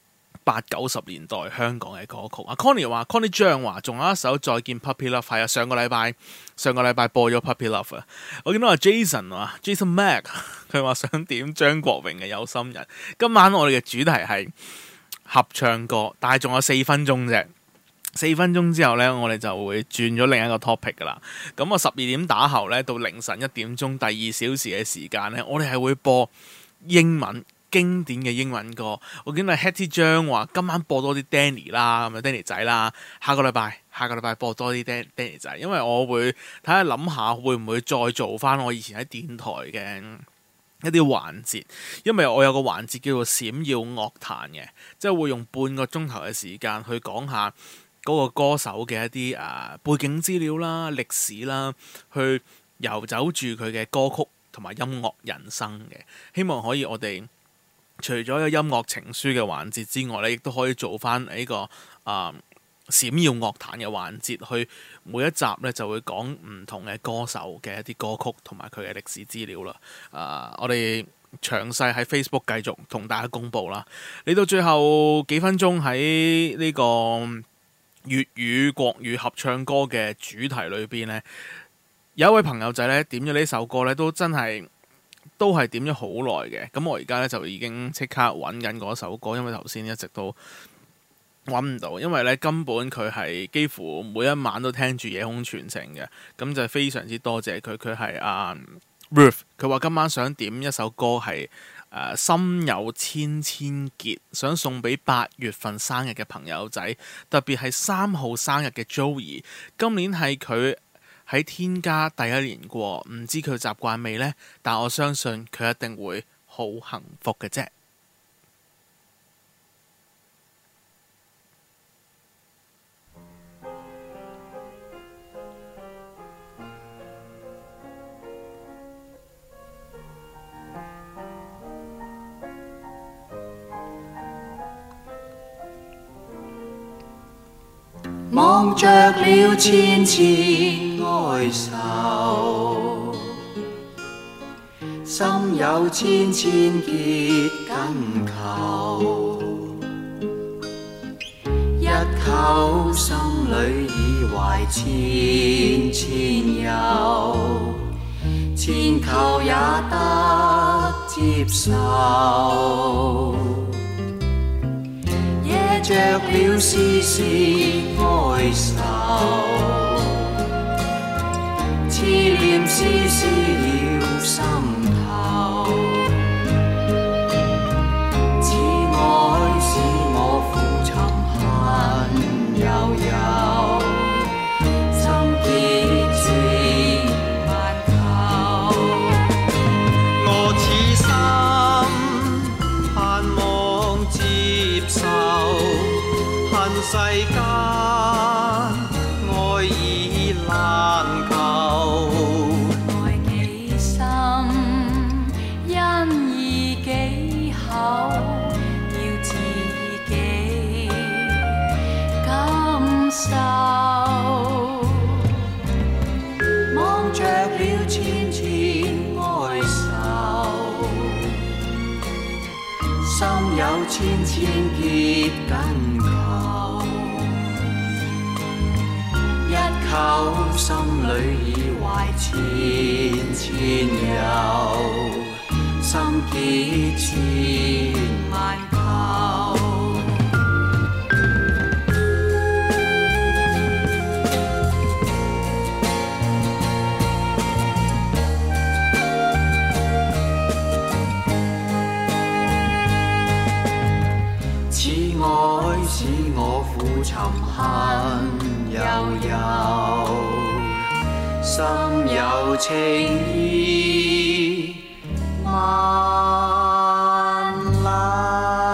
[SPEAKER 3] 80-90年代香港嘅歌曲。Connie 張話仲有一首再見 Puppy Love， 係啊，上個禮拜播咗 Puppy Love 啊。我見到阿 Jason Mac 佢話想點張國榮嘅有心人。今晚我哋嘅主題係合唱歌，但係仲有4分鐘啫。4分鐘之後呢，我哋就會轉咗另一個 topic 噶啦。咁啊12點打後呢，到凌晨1點鐘第2小時嘅時間呢，我哋係會播英文經典嘅英文歌。我見到 Hetty 張話今晚播多啲 Danny 啦，咁啊 Danny 仔啦。下個禮拜播多啲 Danny 仔，因為我會睇下諗下會唔會再做翻我以前喺電台嘅一啲環節，因為我有個環節叫做閃耀樂壇嘅，即係會用半個鐘頭嘅時間去講下嗰個歌手嘅一啲背景資料啦、歷史啦，去遊走住佢嘅歌曲同埋音樂人生嘅。希望可以我哋除咗有音樂情書嘅環節之外咧，亦都可以做翻呢個閃耀樂壇嘅環節，去每一集咧就會講唔同嘅歌手嘅一啲歌曲同埋佢嘅歷史資料啦。我哋詳細喺 Facebook 繼續同大家公佈啦。嚟到最後幾分鐘喺呢個粵語國語合唱歌嘅主題裏邊呢，有一位朋友仔咧點咗呢首歌咧，都係點咗好耐嘅。咁我而家咧就已經即刻揾緊嗰首歌，因為頭先一直都揾唔到，因為咧根本佢係幾乎每一晚都聽住夜空傳情嘅。咁就非常之多謝佢，佢係Ruth， 佢話今晚想點一首歌係心有千千結，想送俾8月份生日嘅朋友仔，特別係3號生日嘅 Joey。今年係佢喺天家第1年過，唔知佢習慣未呢？但我相信佢一定會好幸福嘅啫。
[SPEAKER 5] 望着了千千哀愁，心有千千結緊扣，一口心裏已懷千千憂，千求也得接受。惹着了絲絲哀愁，痴念絲絲繞心頭，此愛使我苦沉恨悠悠，心結千萬構。我此心盼望接受，恨世間愛已難求，
[SPEAKER 4] 愛幾深，因義幾厚，要自己感受。
[SPEAKER 5] 望着了千千哀愁，心有千千結緊扣，一口心裏已懷千千憂，心結千萬構。此愛使我苦沉恨悠悠，心有情意萬縷。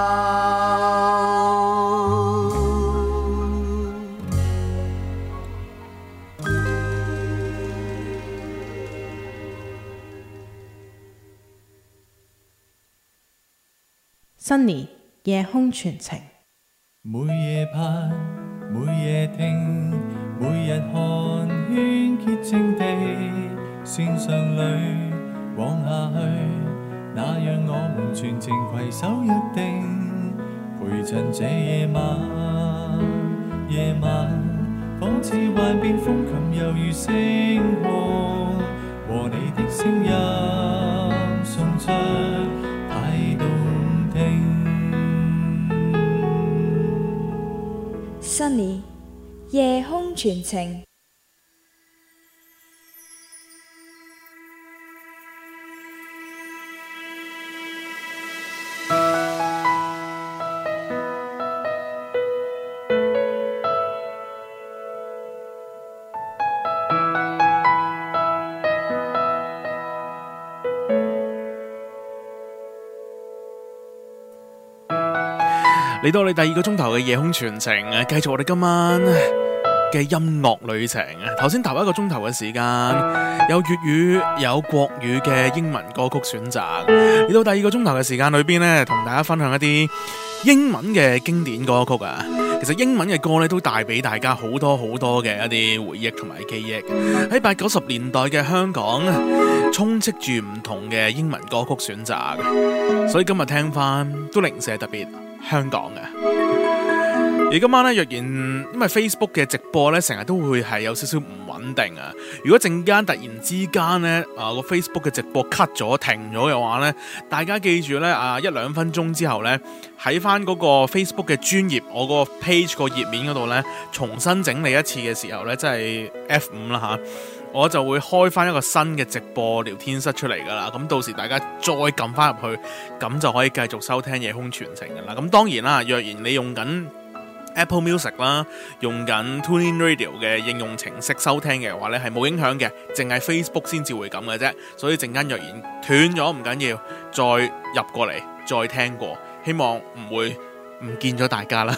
[SPEAKER 6] Sunny 夜空傳情。
[SPEAKER 1] 每夜盼，每夜聽，每日看，喧潔淨地，線上裏往下去，那讓我們全程攜手約定，陪襯這夜晚，夜晚仿似幻變風琴，猶如星空，和你的聲音送出太動聽。
[SPEAKER 2] Sunny 夜空傳情。
[SPEAKER 3] 嚟到我哋第二個鐘頭嘅夜空傳情啊，繼續我哋今晚嘅音樂旅程啊。頭先頭一個鐘頭嘅時間，有粵語有國語嘅英文歌曲選擇。嚟到第二個鐘頭嘅時間裏邊呢，同大家分享一啲英文嘅經典歌曲啊。其實英文嘅歌咧都帶俾大家好多好多嘅一啲回憶同埋記憶。喺80、90年代嘅香港，充斥住唔同嘅英文歌曲選擇，所以今日聽翻都零舍特別香港嘅。而今晚咧，若然因為 Facebook 嘅直播咧，成日都會係有少少唔穩定啊。如果陣間突然之間咧，個 Facebook 嘅直播 cut 咗停咗嘅話咧，大家記住咧，1-2分鐘之後咧，喺翻嗰個 Facebook 嘅專頁，我個 page 個頁面嗰度咧，重新整理一次嘅時候咧，即係 F5 啦吓，我就會開翻一個新嘅直播聊天室出嚟噶啦。咁到時大家再撳翻入去，咁就可以繼續收聽夜空傳情噶啦。咁當然啦，若然你用緊Apple Music 啦，用緊 TuneIn Radio 嘅應用程式收聽嘅話咧，係冇影響嘅，淨係 Facebook 先至會咁嘅啫。所以陣間若然斷咗唔緊要，再入過嚟再聽過，希望唔會唔見咗大家啦。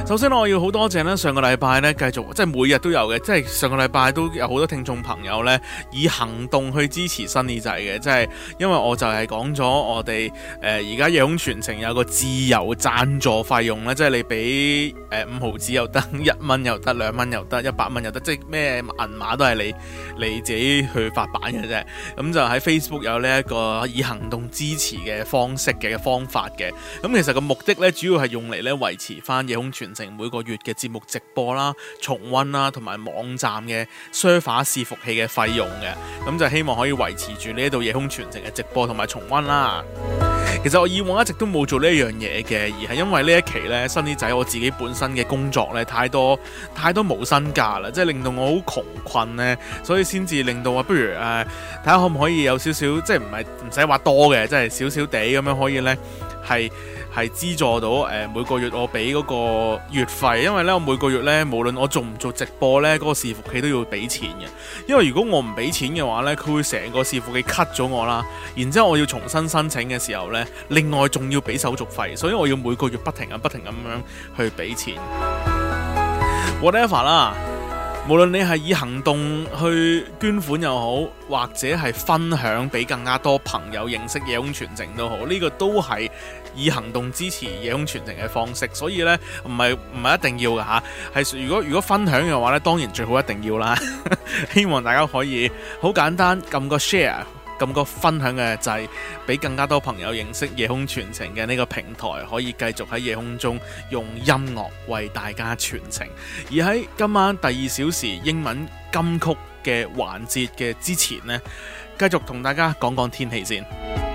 [SPEAKER 3] 首先我要好多謝咧，上個禮拜咧繼續即係每日都有嘅，即係上個禮拜都有好多聽眾朋友咧以行動去支持新耳仔嘅，即係因為我就係講咗我哋而家夜空傳情有個自由贊助費用咧，即係你俾5毫子又得，1蚊又得，2蚊又得，100蚊又得，即係咩銀碼都係你自己去發版嘅啫。咁就喺 Facebook 有呢一個以行動支持嘅方法嘅。咁其實個目的咧主要係用嚟咧維持翻夜空傳情每個月嘅節目直播啦、重溫啦，同埋網站嘅 server 伺服器嘅費用嘅，咁就希望可以維持住呢一度夜空傳情嘅直播同埋重溫啦。其實我以往一直都冇做呢一樣嘢嘅，而係因為呢一期呢，新耳仔我自己本身嘅工作呢太多無薪假啦，即係令到我好窮困呢，所以先至令到我不如睇下可唔可以有少少，即係唔使話多嘅，即係少少地咁樣可以呢，係資助到每個月我俾嗰個月費，因為咧我每個月咧無論我做唔做直播咧，嗰個伺服器都要俾錢嘅。因為如果我唔俾錢嘅話咧，佢會成個伺服器 cut 咗我啦，然之後我要重新申請嘅時候咧，另外仲要俾手續費，所以我要每個月不停咁樣去俾錢。whatever 啦。無論你係以行動去捐款又好，或者係分享俾更加多朋友認識夜空傳情都好，呢個都係以行動支持夜空傳情嘅方式。所以呢，唔係一定要㗎吓，係如果分享嘅話呢，當然最好一定要啦。希望大家可以好簡單撳個 share。咁個分享嘅掣，俾更加多朋友認識夜空傳情嘅呢個平台，可以繼續喺夜空中用音樂為大家傳情。而喺今晚第2小時英文金曲嘅環節嘅之前呢，繼續同大家講講天氣先。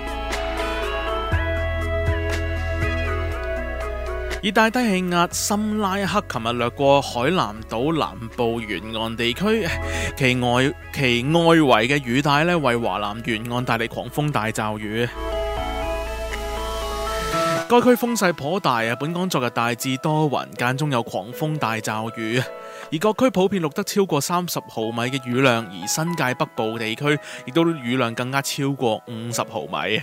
[SPEAKER 3] 熱帶低氣壓森拉克琴日掠過海南島南部沿岸地區，其外圍嘅雨帶咧，為華南沿岸帶嚟狂風大驟雨。該區風勢頗大啊！本港昨日大致多雲，間中有狂風大驟雨，而各區普遍錄得超過30毫米嘅雨量，而新界北部地區亦都雨量更加超過50毫米。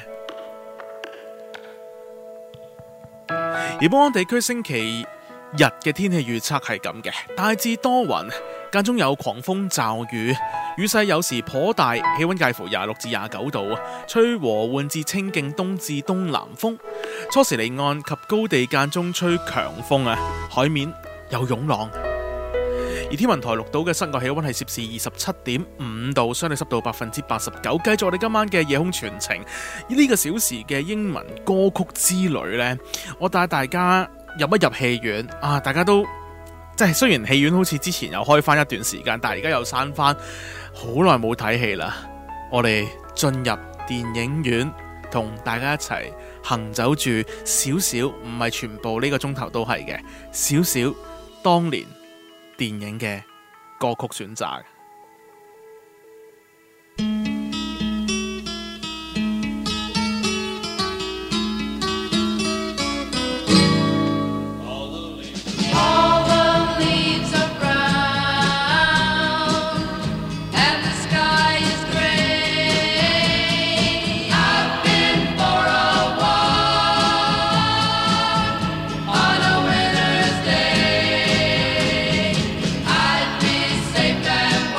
[SPEAKER 3] 而本港地區星期日嘅天氣預測係咁嘅，大致多雲，間中有狂風驟雨，雨勢有時頗大，氣溫介乎26至29度，吹和緩至清勁東至東南風，初時離岸及高地間中吹強風啊，海面有湧浪。而天文台錄到嘅室外氣溫係攝氏27.5度，相對濕度89%。繼續我哋今晚嘅夜空傳情，呢個小時嘅英文歌曲之旅呢，我帶大家入戲院啊！大家都即係雖然戲院好似之前又開翻一段時間，但係而家又閂翻，好耐冇睇戲啦。我哋進入電影院，同大家一齊行走住少少，唔係全部呢個鐘頭都係嘅，少少當年電影嘅歌曲選擇。
[SPEAKER 10] Safe and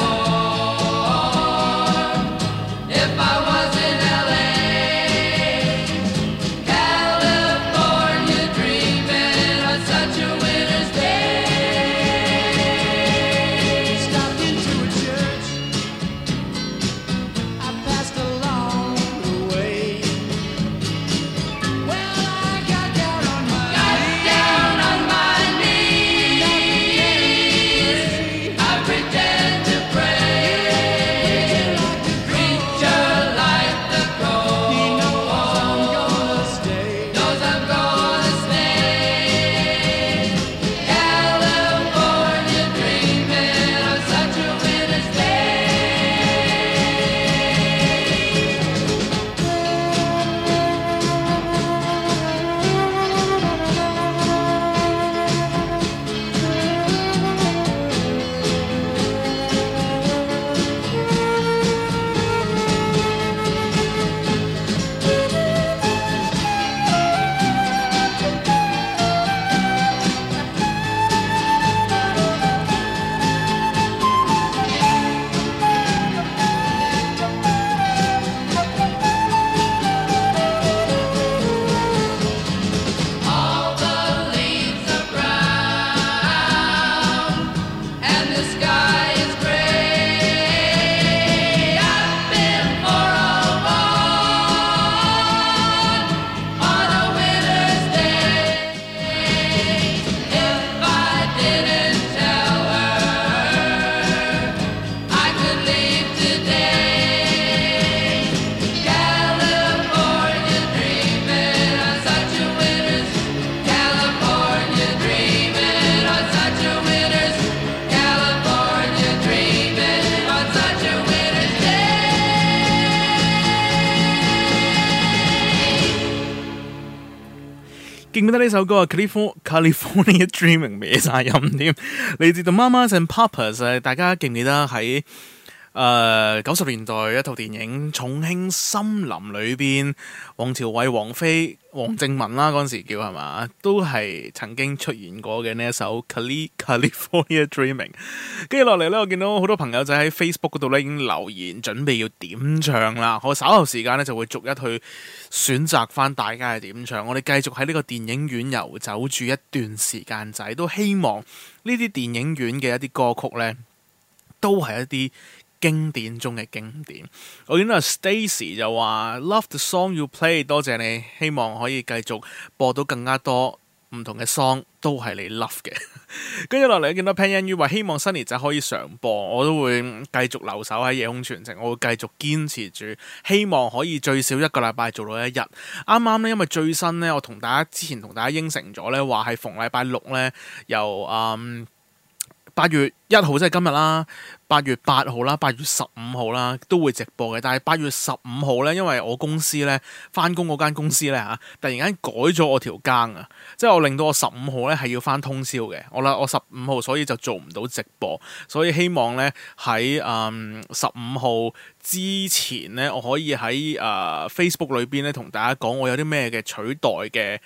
[SPEAKER 3] 記唔記得呢首歌啊 ？California Dreaming 歪晒音添，嚟自 The Mamas and Papas。大家記唔記得喺90年代一套電影《重慶森林》裏邊，王朝偉、王菲、黃正文啦嗰陣時叫係嘛，都係曾經出現過嘅呢一首 California Dreaming。跟住落嚟呢，我見到好多朋友仔喺 Facebook 嗰度呢已經留言，準備要點唱啦。我稍後時間呢就會逐一去選擇翻大家嘅點唱。我哋繼續喺呢個電影院遊走住一段時間仔，都希望呢啲電影院嘅一啲歌曲呢，都係一啲經典中嘅經典。我見到 Stacy 就話 Love the song you play， 多謝你，希望可以繼續播到更加多唔同嘅 song， 都係你 love 嘅。跟住落嚟見到 Pan Yan Yu 話希望Sunny仔可以常播，我都會繼續留守喺夜空傳情，我會繼續堅持住，希望可以最少一個禮拜做到一日。啱啱呢，因為最新呢，我之前同大家應承咗呢，話係逢禮拜六呢，由8月1號即係今日啦，8月8號啦，8月15號啦都會直播嘅。但係8月15號呢，因為我公司呢，返工嗰間公司呢，突然間改咗我條更啊，即係我令到我15號呢係要返通宵嘅。我15號所以就做唔到直播，所以希望呢，喺15號之前呢，我可以喺Facebook 裏邊呢同大家講我有啲咩嘅取代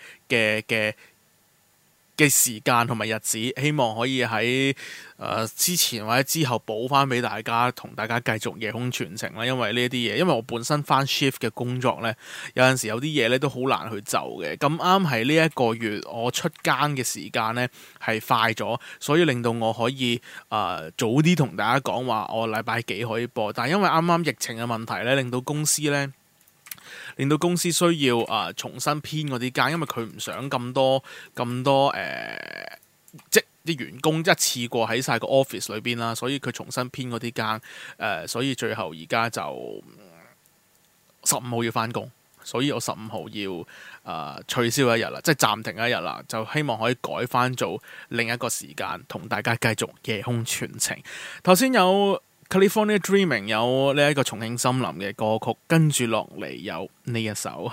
[SPEAKER 3] 嘅時間同埋日子，希望可以喺之前或者之後補翻俾大家，同大家繼續夜空傳情啦。因為呢啲嘢，因為我本身翻 shift 嘅工作呢，有陣時有啲嘢呢都好難去就嘅。咁啱係呢一個月我出更嘅時間呢係快咗，所以令到我可以早啲同大家講話我禮拜幾可以播。但係因為啱啱疫情嘅問題呢，令到公司需要重新編嗰啲更，因為佢唔想咁多即啲員工一次過喺晒個 office 裏邊啦，所以佢重新編嗰啲更，所以最後而家就15號要返工，所以我15號要取消一日啦，即係暫停一日啦，就希望可以改返做另一個時間，同大家繼續夜空傳情。頭先有California Dreaming， 有呢一個重慶森林嘅歌曲，跟住落嚟有呢一首。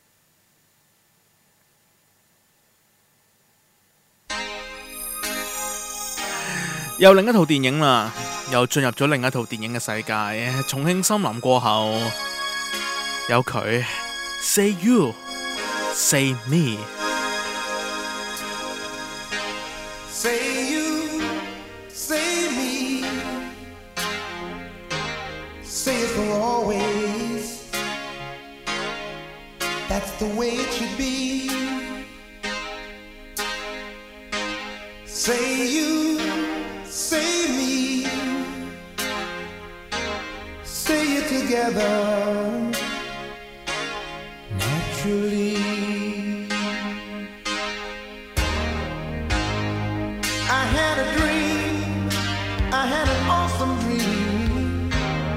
[SPEAKER 3] 又另一套電影啦，又進入咗另一套電影嘅世界。重慶森林過後，有佢 Say You Say Me。
[SPEAKER 5] Say you, say me, say it for always. That's the way it should be. Say you, say me, say it together naturally. I had a dream, I had an awesome dream.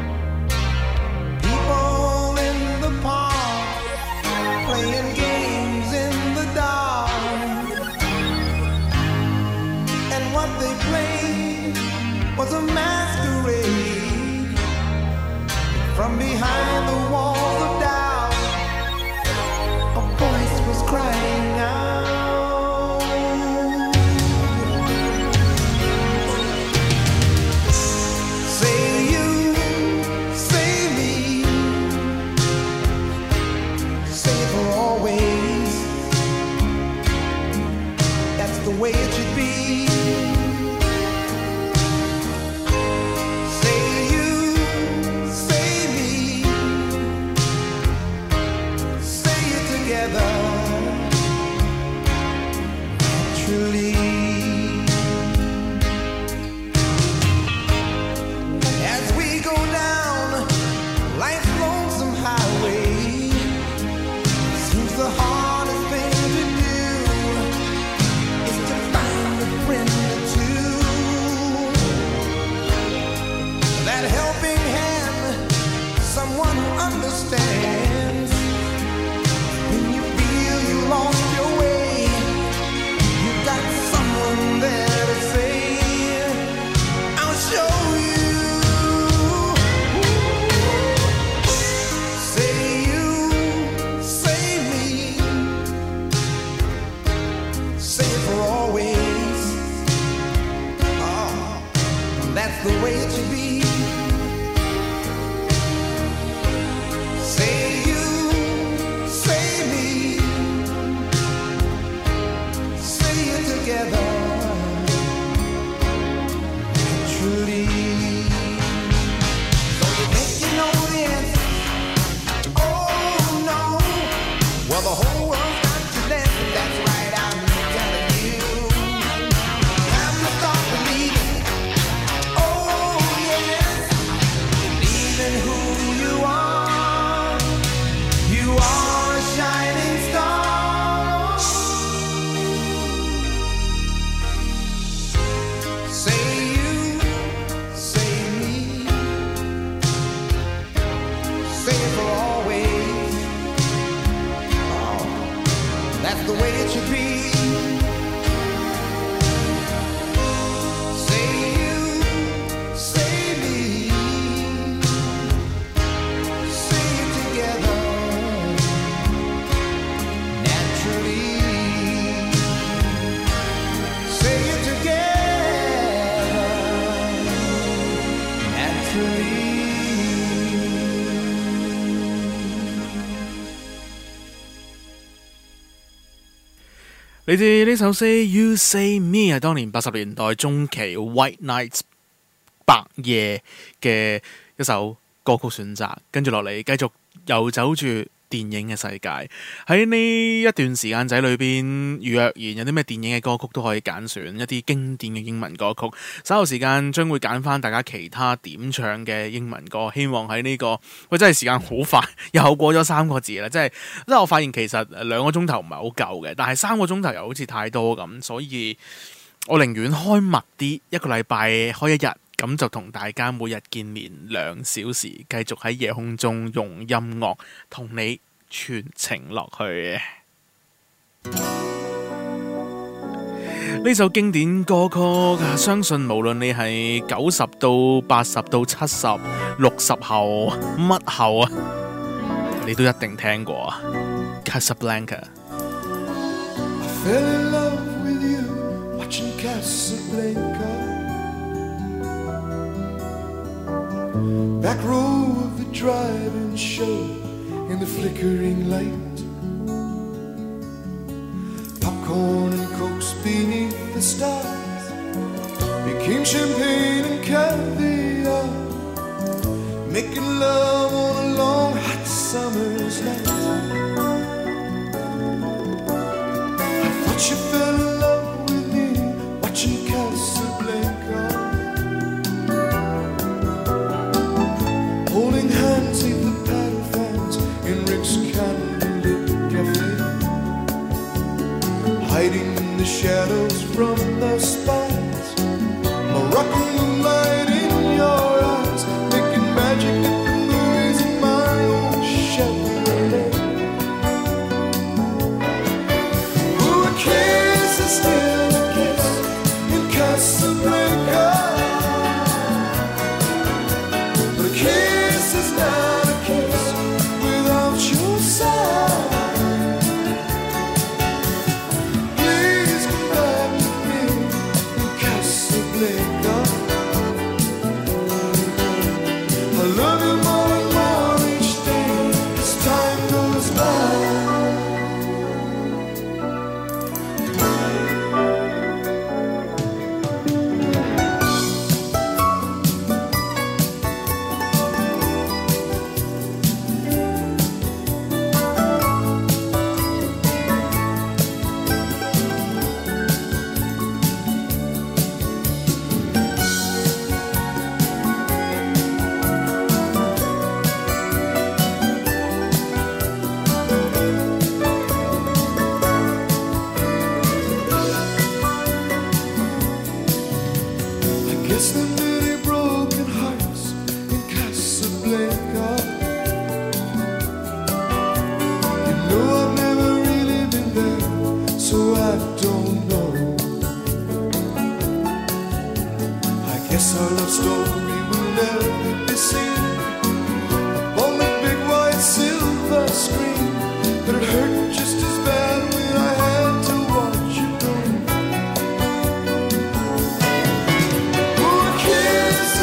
[SPEAKER 5] People in the park playing games in the dark, and what they played was a masquerade. From behind the walls of doubt, a voice was crying out. Say you, say me, say it for always. That's the way it should be. Say you, say me, say it together naturally. As we go down life's lonesome highway, seems the hardest thing to do is to find a friend or two. That helping hand, someone who understands. When you feel you lost your way, you got someone there to say, I'll show you. Say you, say me,
[SPEAKER 10] That's the way it should be. Say you, say me, say it together. Truly. So you think you know the answer? Oh no. Well, the whole world's got to listen. That's right, I'm telling you. Time to start believing. Oh yes. Believe in who you are. You are a shining star. Say you, say me, say it for always. Oh, that's the way it should be. Say you, say me, say it together naturally. Say it together naturally.
[SPEAKER 3] 你哋呢首 Say You Say Me 係當年80年代中期 White Nights 白夜嘅一首歌曲選擇，跟住落嚟繼續遊走住電影嘅世界。喺呢一段時間仔裏邊，若然有啲咩電影嘅歌曲都可以揀選一啲經典嘅英文歌曲。稍後時間將會揀翻大家其他點唱嘅英文歌，希望喺呢個真係時間好快，又過咗3個字啦，即係我發現其實2個鐘頭唔係好夠嘅，但係3個鐘頭又好似太多咁，所以我寧願開密啲，一個禮拜開1日。咁就同大家每日見面2小時，繼續喺夜空中用音樂同你傳情落去。呢首經典歌曲，相信無論你係90到80到70、60後乜後啊，你都一定聽過啊 Casablanca。
[SPEAKER 8] I fell in love with you watching Casablanca. Back row of the drive-in show in the flickering light. Popcorn and cokes beneath the stars became champagne and caviar. Making love on a long hot summer's night. I thought you fell in love with me watching Casablanca. Holding hands neath the paddle fans in Rick's candlelit cafe. Hiding in the shadows from the spires. Moroccan moonlight in your eyes. Making magic at the movies in my own Chevrolet. Ooh, a kiss is still a kiss in Casablanca. But a kiss is not a kiss without your side. Please come back to me in Casablanca. I love you more and more each day as time goes by. I guess there are many broken hearts in Casablanca. You know I've never really been there, so I don't know. I guess our love story will never be seen upon the big white silver screen. But it hurt just as bad when I had to watch you go. Ooh, a kiss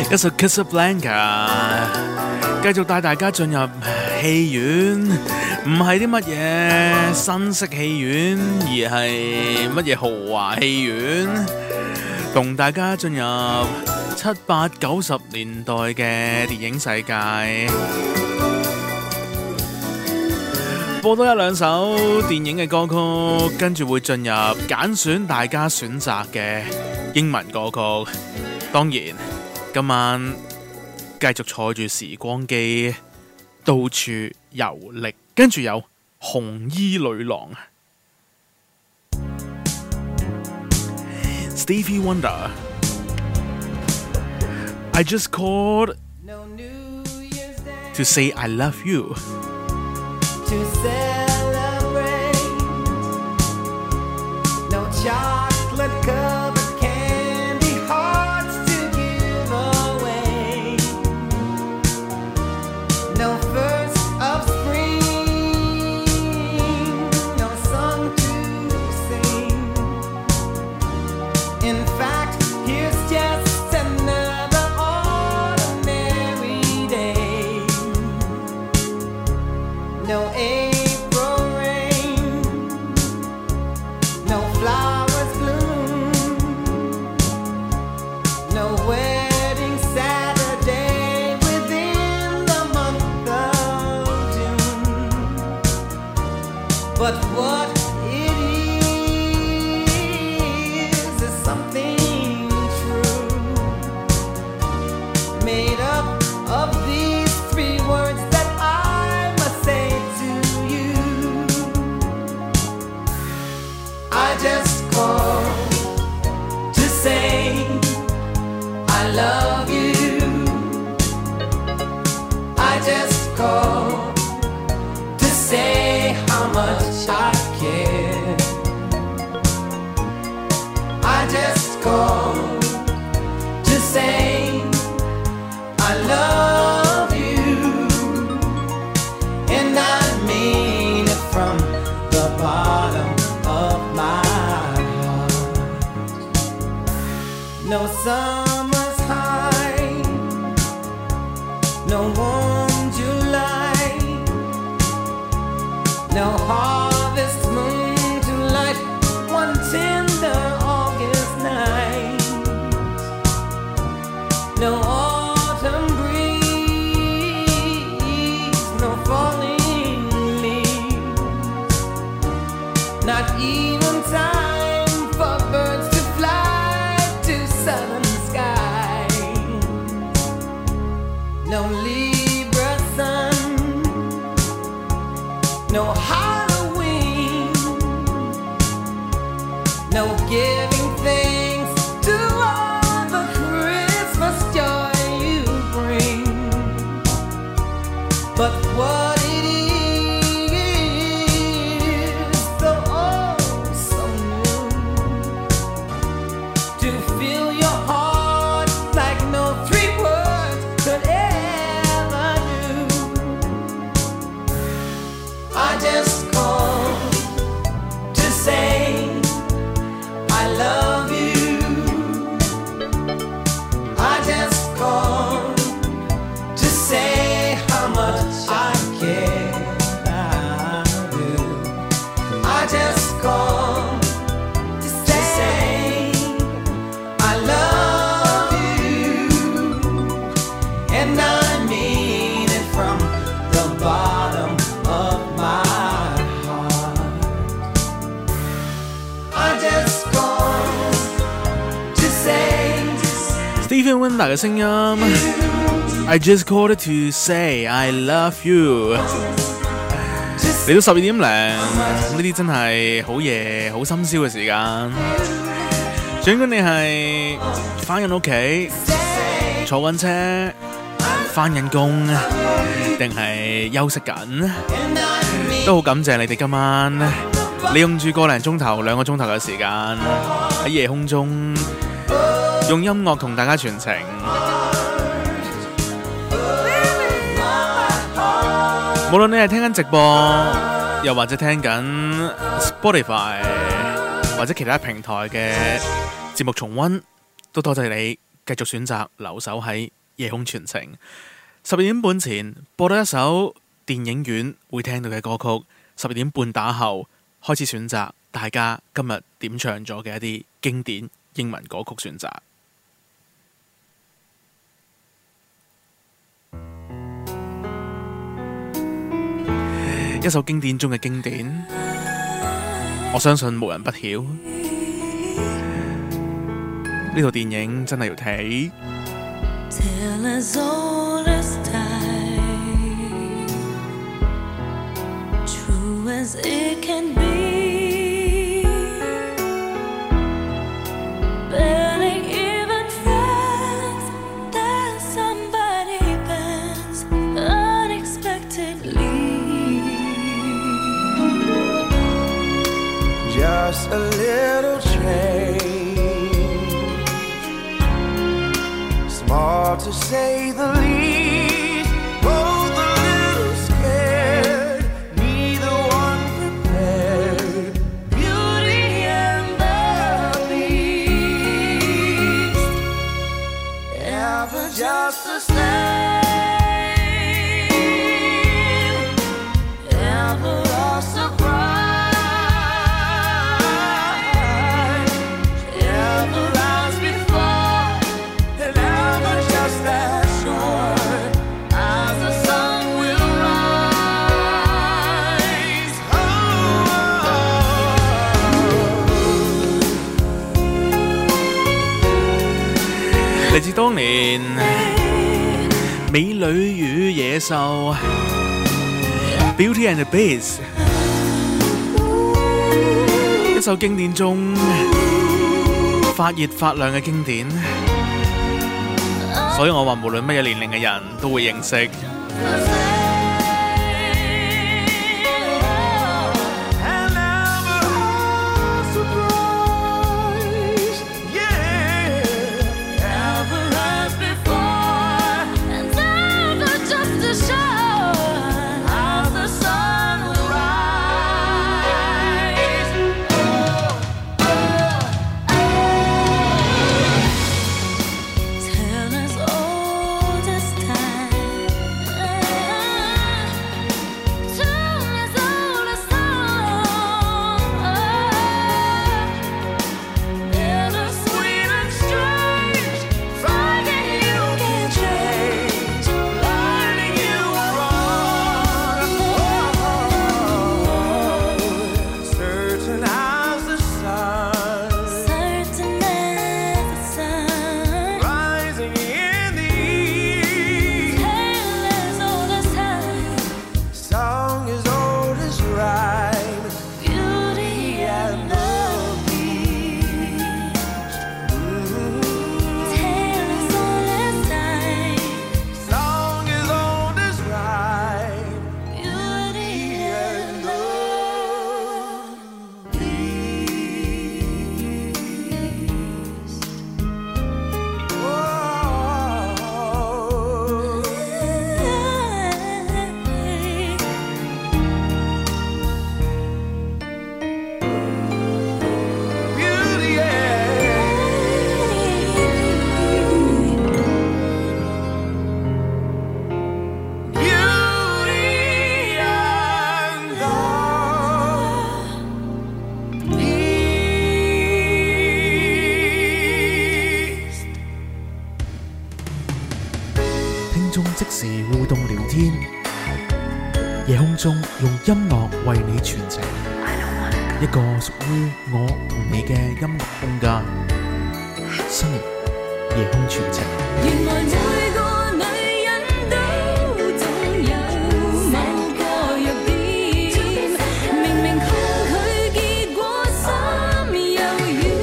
[SPEAKER 3] 一首 Casablanca， 繼續帶大家進入戲院，唔係啲乜嘢新式戲院，而係乜嘢豪華戲院，同大家進入7、8、90年代嘅電影世界，播多一兩首電影嘅歌曲，跟住會進入揀選大家選擇嘅英文歌曲。當然今晚繼續坐住時光機到處遊歷，跟住有紅衣女郎 Stevie Wonder I just called to say I love you
[SPEAKER 10] To celebrate, no chocolate covered candy hearts to give away, no first of spring, no song to sing. In fact, here's just another ordinary day. No April rain, no flowers bloom, no wedding Saturday within the month of June. But what it is something true, made up of these 3 words that I must say to you. I just called to say I love you. I just called to say how much I care. I just called to say I love you, and I mean it from the bottom of my heart. No summer's high, no warm July, no harvest moon to light one tender August night, no autumn breeze, no falling leaves, not even time for birds to fly to southern skies, no Libra sun, no Halloween, no giving thanks to all the Christmas joy you bring. But what it is, so oh so new, to fill your heart like no 3 words could ever do. I just called to say I love you. I just called to say how much I care. I do. I just called to say I love you, and I mean it from the bottom of my heart. I just called to say
[SPEAKER 3] Stevie Wonder 嘅聲音 I just called to say I love you 嚟到12點零，呢啲真係好夜好深宵嘅時間，儘管你係返緊屋企坐緊車返緊工定係休息緊，都好感謝你哋今晚利用住個零鐘頭2個鐘頭嘅時間喺夜空中用音樂同大家傳情。無論你係聽緊直播，又或者聽緊 Spotify 或者其他平台嘅節目重溫，都多謝你繼續選擇留守喺夜空傳情。12點半前播到一首電影院會聽到嘅歌曲，12點半打後開始選擇大家今日點唱咗嘅一啲經典英文歌曲選擇。一首經典中嘅經典，我相信無人不曉。呢套電影真係要睇。
[SPEAKER 11] As it can be, barely even friends, then somebody bends unexpectedly.
[SPEAKER 8] Just a little change, small to say the least.
[SPEAKER 11] Just the same, ever a surprise, ever as before, and ever just as sure as the sun will rise. Oh.
[SPEAKER 3] 嚟自當年美女與野獸 Beauty and the Beast， 一首經典中發熱發亮嘅經典，所以我話無論乜嘢年齡嘅人都會認識。即時互動聊天，夜空中用音樂為你傳情，一個屬於我同你嘅音樂空間。Sunny 夜空傳情。
[SPEAKER 11] 原來每個女人都總有某個弱點，明明抗拒結果心又軟。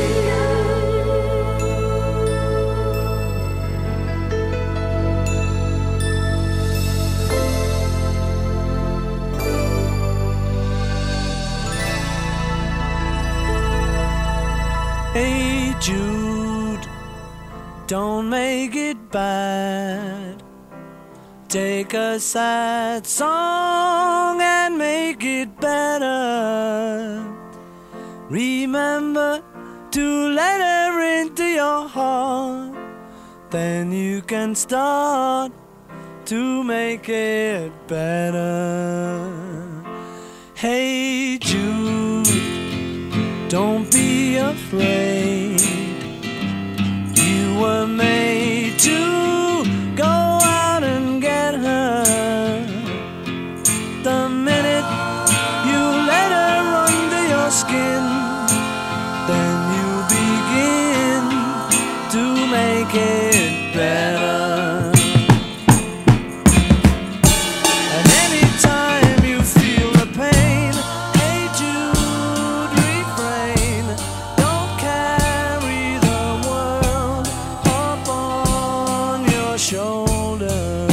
[SPEAKER 7] Hey Jude, don't make it bad. Take a sad song and make it better. Remember to let her into your heart
[SPEAKER 12] then you can start to make it better. Hey Jude, don't be afraid. You were made to go out and get her. The minute you let her under your skin, then you begin to make it better. And anytime you feel the pain, hey Jude, refrain. Don't carry the world up on your shoulder.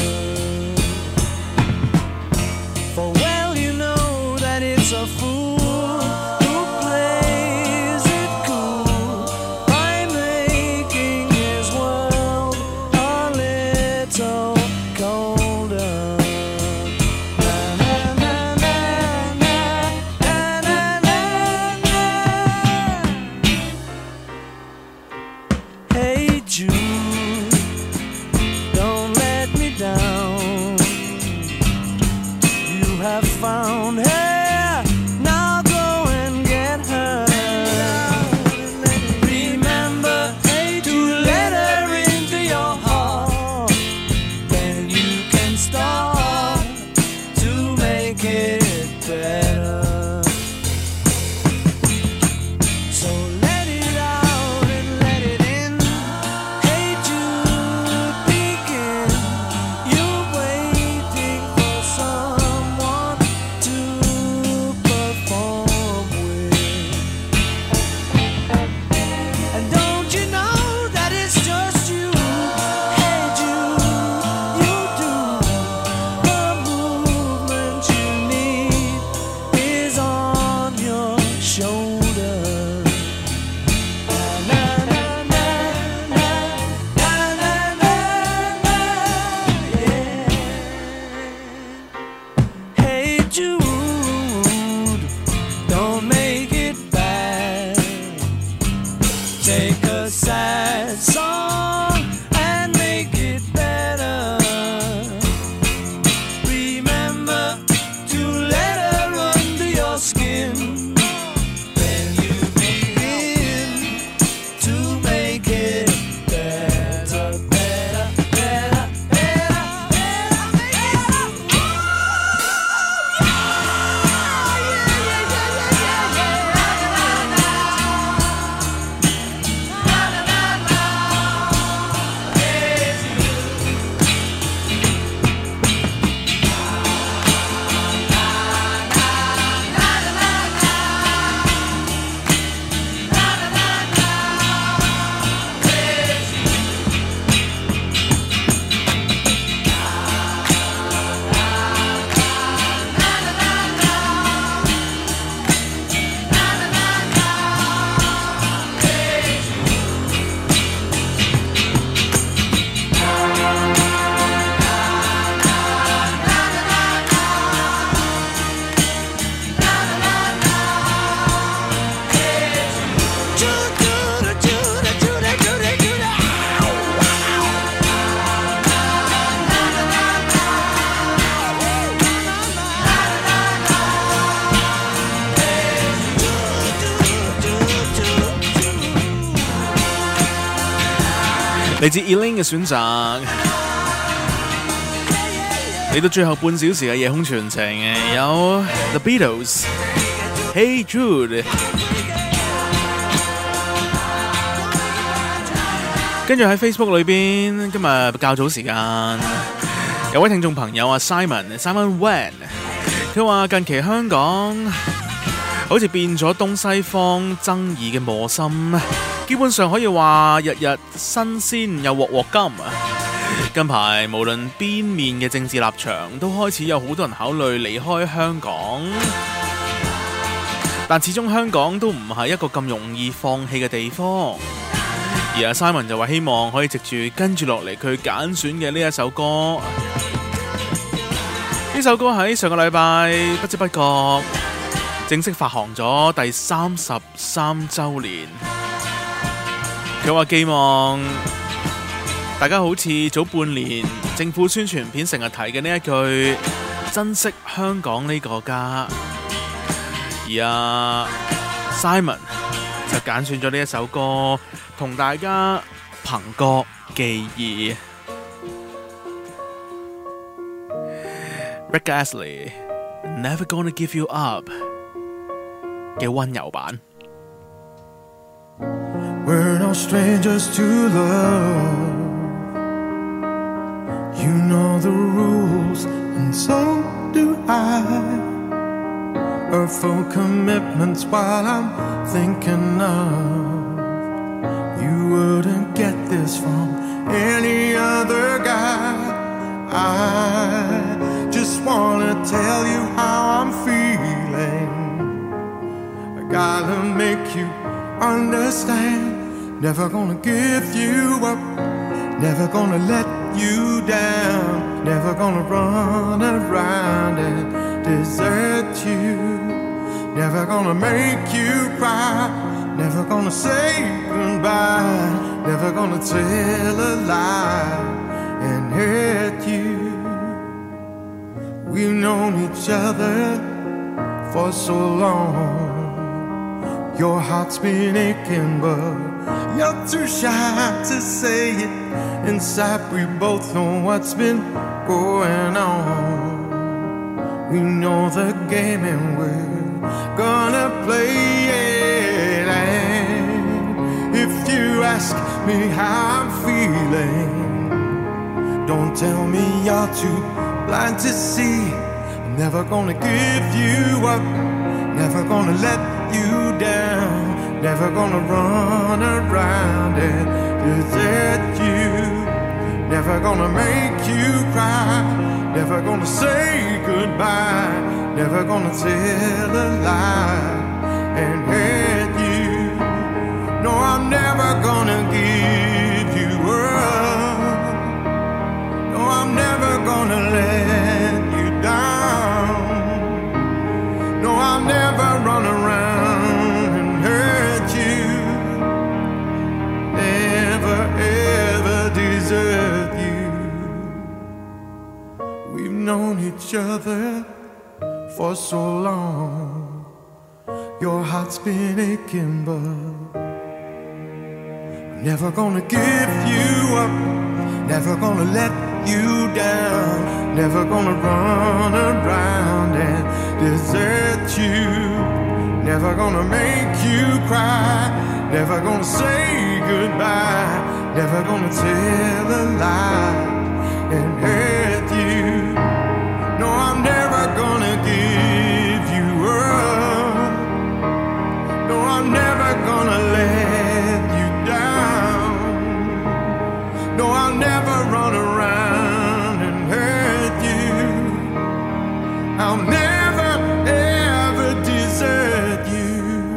[SPEAKER 12] For well you know that it's a fool who plays it cool by making his world a little colder. Na, na, na, na, na, na, na, na. Hey Jude, don't let me down. You have found her, now go and get her. Remember to let her into your heart, then you can start to make it better. So let it out and let it in. Hey Jude, begin. You're waiting for someone to perform with. And don't you know that it's just you? Hey Jude, you do. The movement you need is on your shoulder. Na, na, na, na, na, na, na, na, yeah. Hey Jude, don't make it bad. Take a sad song and make it better. Remember to let her under your skin, then you begin to make it better, better, better, better, better.
[SPEAKER 3] 嚟自 Elaine 嘅選擇，嚟到最後半小時嘅夜空傳情，有 The Beatles，Hey Jude， 跟住喺 Facebook 裏邊，今日較早時間有位聽眾朋友啊 Simon Wan， 佢話近期香港好似變咗東西方爭議嘅磨心。基本上可以話日日新鮮又鑊鑊金。近排無論邊面嘅政治立場，都開始有好多人考慮離開香港。但始終香港都唔係一個咁容易放棄嘅地方。而阿 Simon 就話希望可以藉住跟住落嚟佢揀選嘅呢一首歌。呢首歌喺上個禮拜不知不覺正式發行咗第33週年。佢話寄望大家好似早半年政府宣傳片成日提嘅呢一句珍惜香港呢個家，而Simon 就揀選咗呢一首歌同大家憑歌寄意。Rick Astley Never Gonna Give You Up 嘅溫柔版。
[SPEAKER 8] We're no strangers to love. You know the rules, and so do I. A full commitment's what I'm thinking of. You wouldn't get this from any other guy. I just wanna tell you how I'm feeling. I gotta make you understand. Never gonna give you up. Never gonna let you down. Never gonna run around and desert you. Never gonna make you cry. Never gonna say goodbye. Never gonna tell a lie and hurt you. We've known each other for so long. Your heart's been aching, but you're too shy to say it. Inside we both know what's been going on. We know the game and we're gonna play it. And if you ask me how I'm feeling, don't tell me you're too blind to see. I'm never gonna give you up. Never gonna let you down. Never gonna run around and desert you. Never gonna make you cry. Never gonna say goodbye. Never gonna tell a lie and hurt you. No, I'm never gonna give you up. No, I'm never gonna let you down. No, I'll never run around and hurt you. Never ever desert you. We've known each other for so long. Your heart's been aching, but I'm never gonna give you up. Never gonna let you down. Never gonna run around and desert you. Never gonna make you cry. Never gonna say goodbye. Never gonna tell a lie and hurt you. No, I'm never gonna give you up. No, I'm never gonna let you down. No, I'll never run around and hurt you. I'll never ever desert you.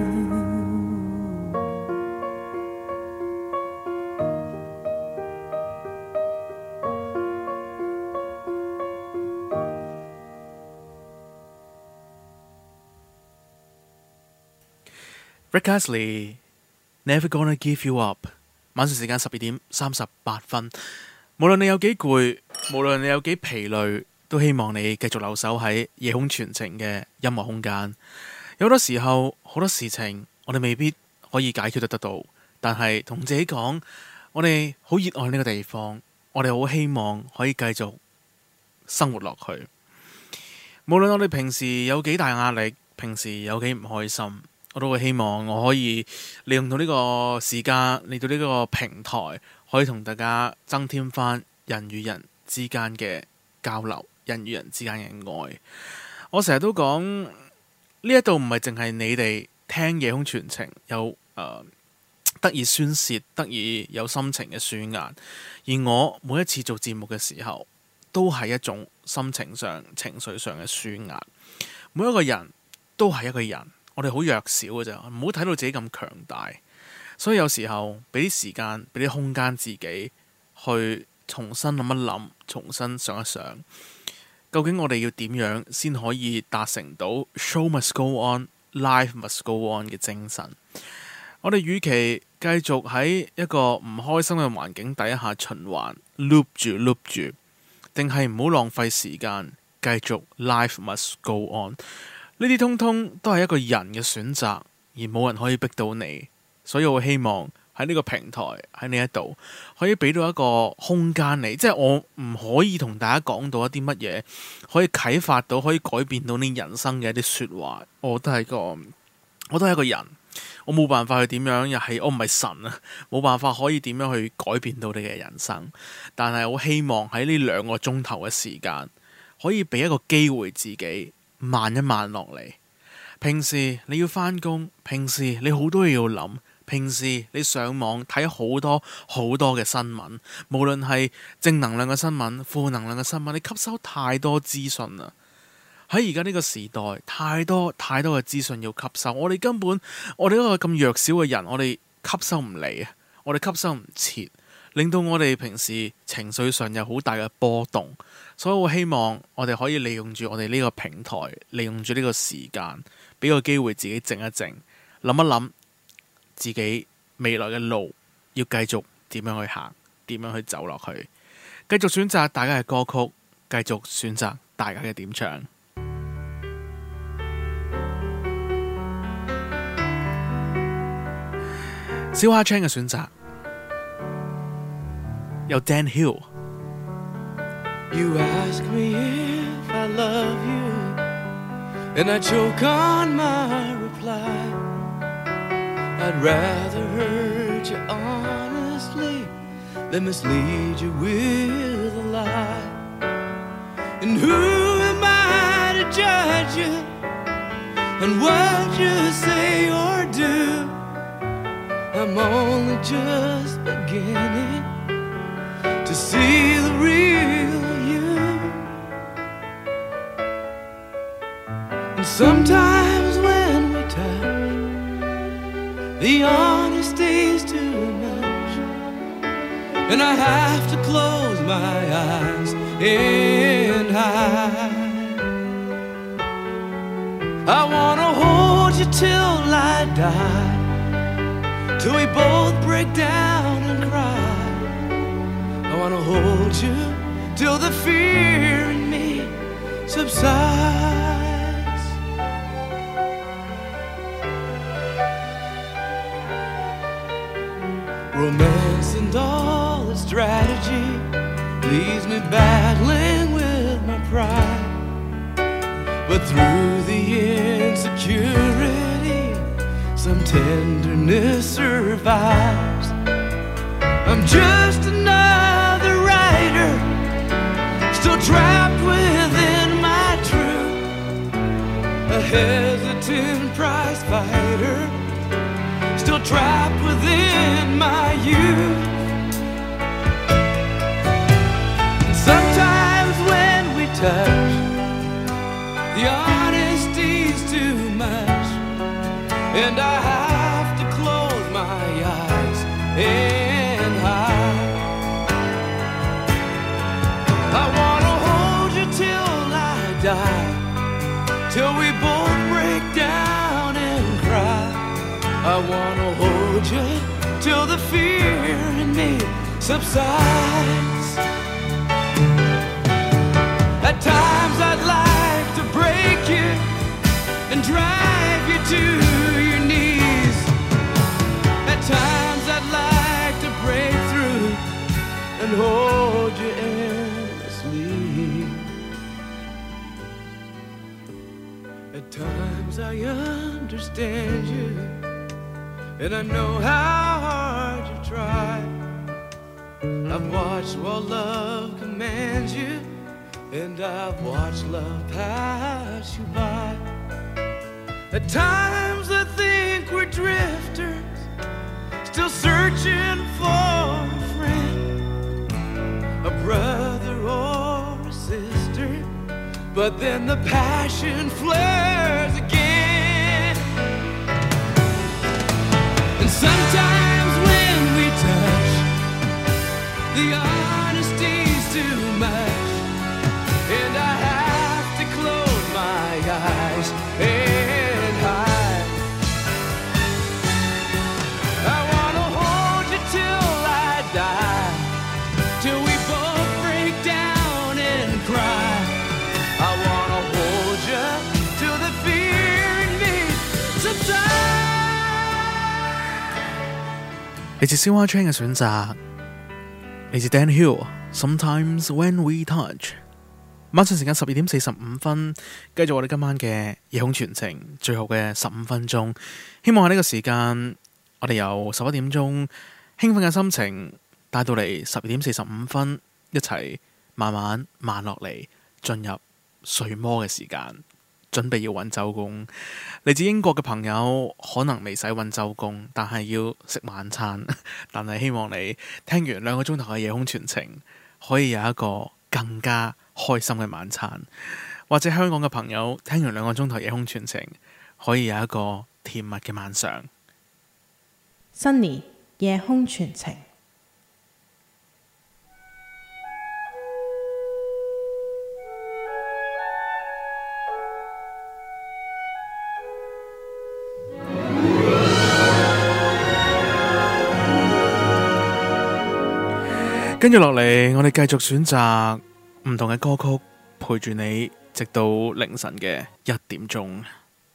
[SPEAKER 3] Rick Astley Never Gonna Give You Up。晚上時間12:38。無論你有幾攰，無論你有幾疲累，都希望你繼續留守喺夜空傳情嘅音樂空間。有好多時候，好多事情我哋未必可以解決得到，但係同自己講，我哋好熱愛呢個地方，我哋好希望可以繼續生活落去。無論我哋平時有幾大壓力，平時有幾唔開心，我都會希望我可以利用到呢個時間，嚟到呢個平台，可以同大家增添翻人與人之間嘅交流，人與人之間嘅愛。我成日都講呢一度唔係淨係你哋聽夜空傳情有得以宣泄，得以有心情嘅抒壓，而我每一次做節目嘅時候，都係一種心情上、情緒上嘅抒壓。每一個人都係一個人。我哋好弱小嘅咋，唔好睇到自己咁強大。所以有時候俾啲時間，俾啲空間自己去重新諗一諗，重新想一想，究竟我哋要點樣先可以達成到 Show must go on, life must go on 嘅精神。我哋與其繼續喺一個唔開心嘅環境底下循環 loop 住，定係唔好浪費時間繼續 life must go on？ 呢啲通通都係一個人嘅選擇，而冇人可以逼到你。所以我希望喺呢個平台喺呢一度可以俾到一個空間你，即係我唔可以同大家講到一啲乜嘢可以啟發到可以改變到你人生嘅一啲說話。我都係一個人，我冇辦法去點樣，又係我唔係神啊，冇辦法可以點樣去改變到你嘅人生。但係我希望喺呢2個鐘頭嘅時間可以俾一個機會自己慢一慢落嚟。平時你要返工，平時你好多嘢要諗，平時你上網睇好多嘅新聞，無論係正能量嘅新聞、負能量嘅新聞，你吸收太多資訊啦。喺而家呢個時代，太多嘅資訊要吸收，我哋一個咁弱小嘅人，我哋吸收唔嚟啊，我哋吸收唔切，令到我哋平時情緒上有好大嘅波動。所以我希望我哋可以利用住我哋呢個平台，利用住呢個時間，俾個機會自己靜一靜，諗一諗自己未來嘅路要繼續點樣去行，點樣去走落去，繼續選擇大家嘅歌曲，繼續選擇大家嘅點唱。小蝦 Chan 嘅選擇有 Dan Hill。You
[SPEAKER 8] ask me if I love you, and I choke on my reply. I'd rather hurt you honestly than mislead you with a lie. And who am I to judge you on what you say or do? I'm only just beginning to see the real you. And sometimes when we touch, the honesty's too much, and I have to close my eyes and hide. I wanna hold you till I die, till we both break down and cry. I wanna hold you till the fear in me subsides. Romance and all its strategy leaves me battling with my pride. But through the insecurity, some tenderness survives. I'm just another writer, still trapped within my truth, a hesitant prize fighter, still trapped within my youth. And sometimes when we touch, the honesty's too much, and I have to close my eyes and hide. I wanna hold you till I die, till we both break down and cry. I wanna hold you till the fear in me subsides. At times I'd like to break you and drive you to your knees. At times I'd like to break through and hold you endlessly. At times I understand you, and I know how hard you try. I've watched while love commands you, and I've watched love pass you by. At times I think we're drifters, still searching for a friend, a brother or a sister. But then the passion flares again. And sometimes when we touch, the honesty's too much, and I have to close my eyes and hide. I wanna
[SPEAKER 3] 嚟自燒花 Train 嘅選擇，嚟自 Dan Hill。Sometimes when we touch。晚上時間12點45分，繼續我哋今晚嘅夜空傳情，最後嘅15分鐘。希望喺呢個時間，我哋由11點鐘興奮嘅心情帶到嚟12點45分，一齊慢慢慢落嚟，進入睡魔嘅時間。準備要揾周公，嚟自英國嘅朋友可能未使揾周公，但係要食晚餐。但係希望你聽完2個鐘頭嘅夜空傳情，可以有一個更加開心嘅晚餐。或者香港嘅朋友聽完2個鐘頭夜空傳情，可以有一個甜蜜嘅晚上。
[SPEAKER 6] Sunny 夜空傳情。
[SPEAKER 3] 跟住落嚟，我哋繼續選擇唔同嘅歌曲，陪住你直到凌晨嘅1點鐘。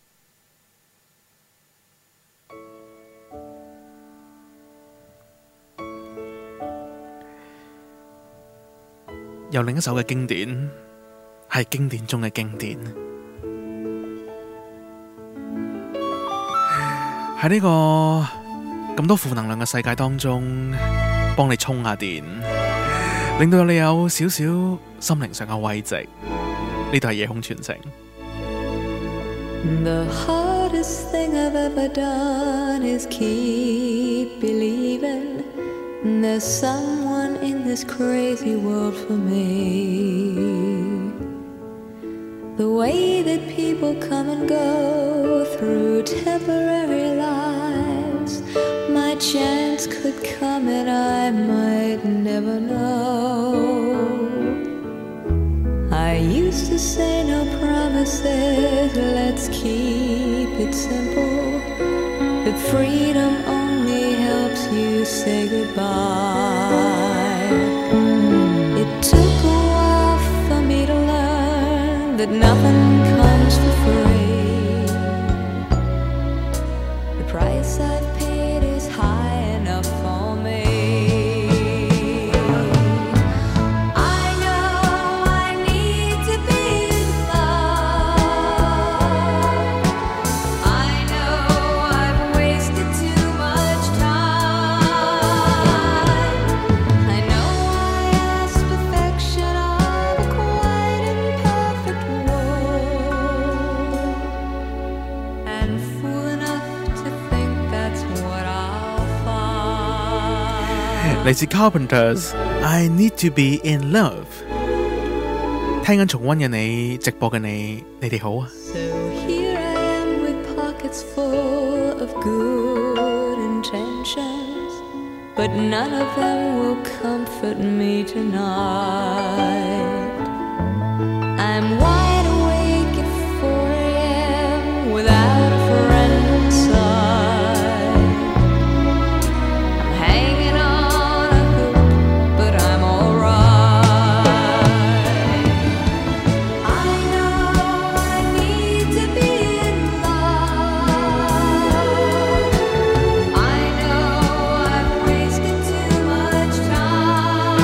[SPEAKER 3] 有另一首嘅經典，係經典中嘅經典。喺呢個咁多負能量嘅世界當中，幫你充下電，令到你有少少心靈上嘅慰藉。呢度係夜空傳情。
[SPEAKER 11] The hardest thing I've ever done is keep believing there's someone in this crazy world for me. The way that people come and go through temporary lives, my chance could come and I might never know. I used to say no promises, let's keep it simple. But freedom only helps you say goodbye. It took a while for me to learn that nothing comes for free. The price I've paid is high enough for me. I know I need to be in love. I know I've wasted too much time. I know I asked perfection of a quite imperfect world, and fool enough to think that's what I'll find.
[SPEAKER 3] 嚟自 Carpenters，I Need to Be in Love。聽緊重溫嘅你，直播嘅你，你哋好啊！
[SPEAKER 11] So here I am with pockets full of good intentions, but none of them will comfort me tonight. I'm wide awake at 4 a.m. without a friend inside. I'm hanging on a hook, but I'm alright. I know I need to be in love. I know I've wasted too much time.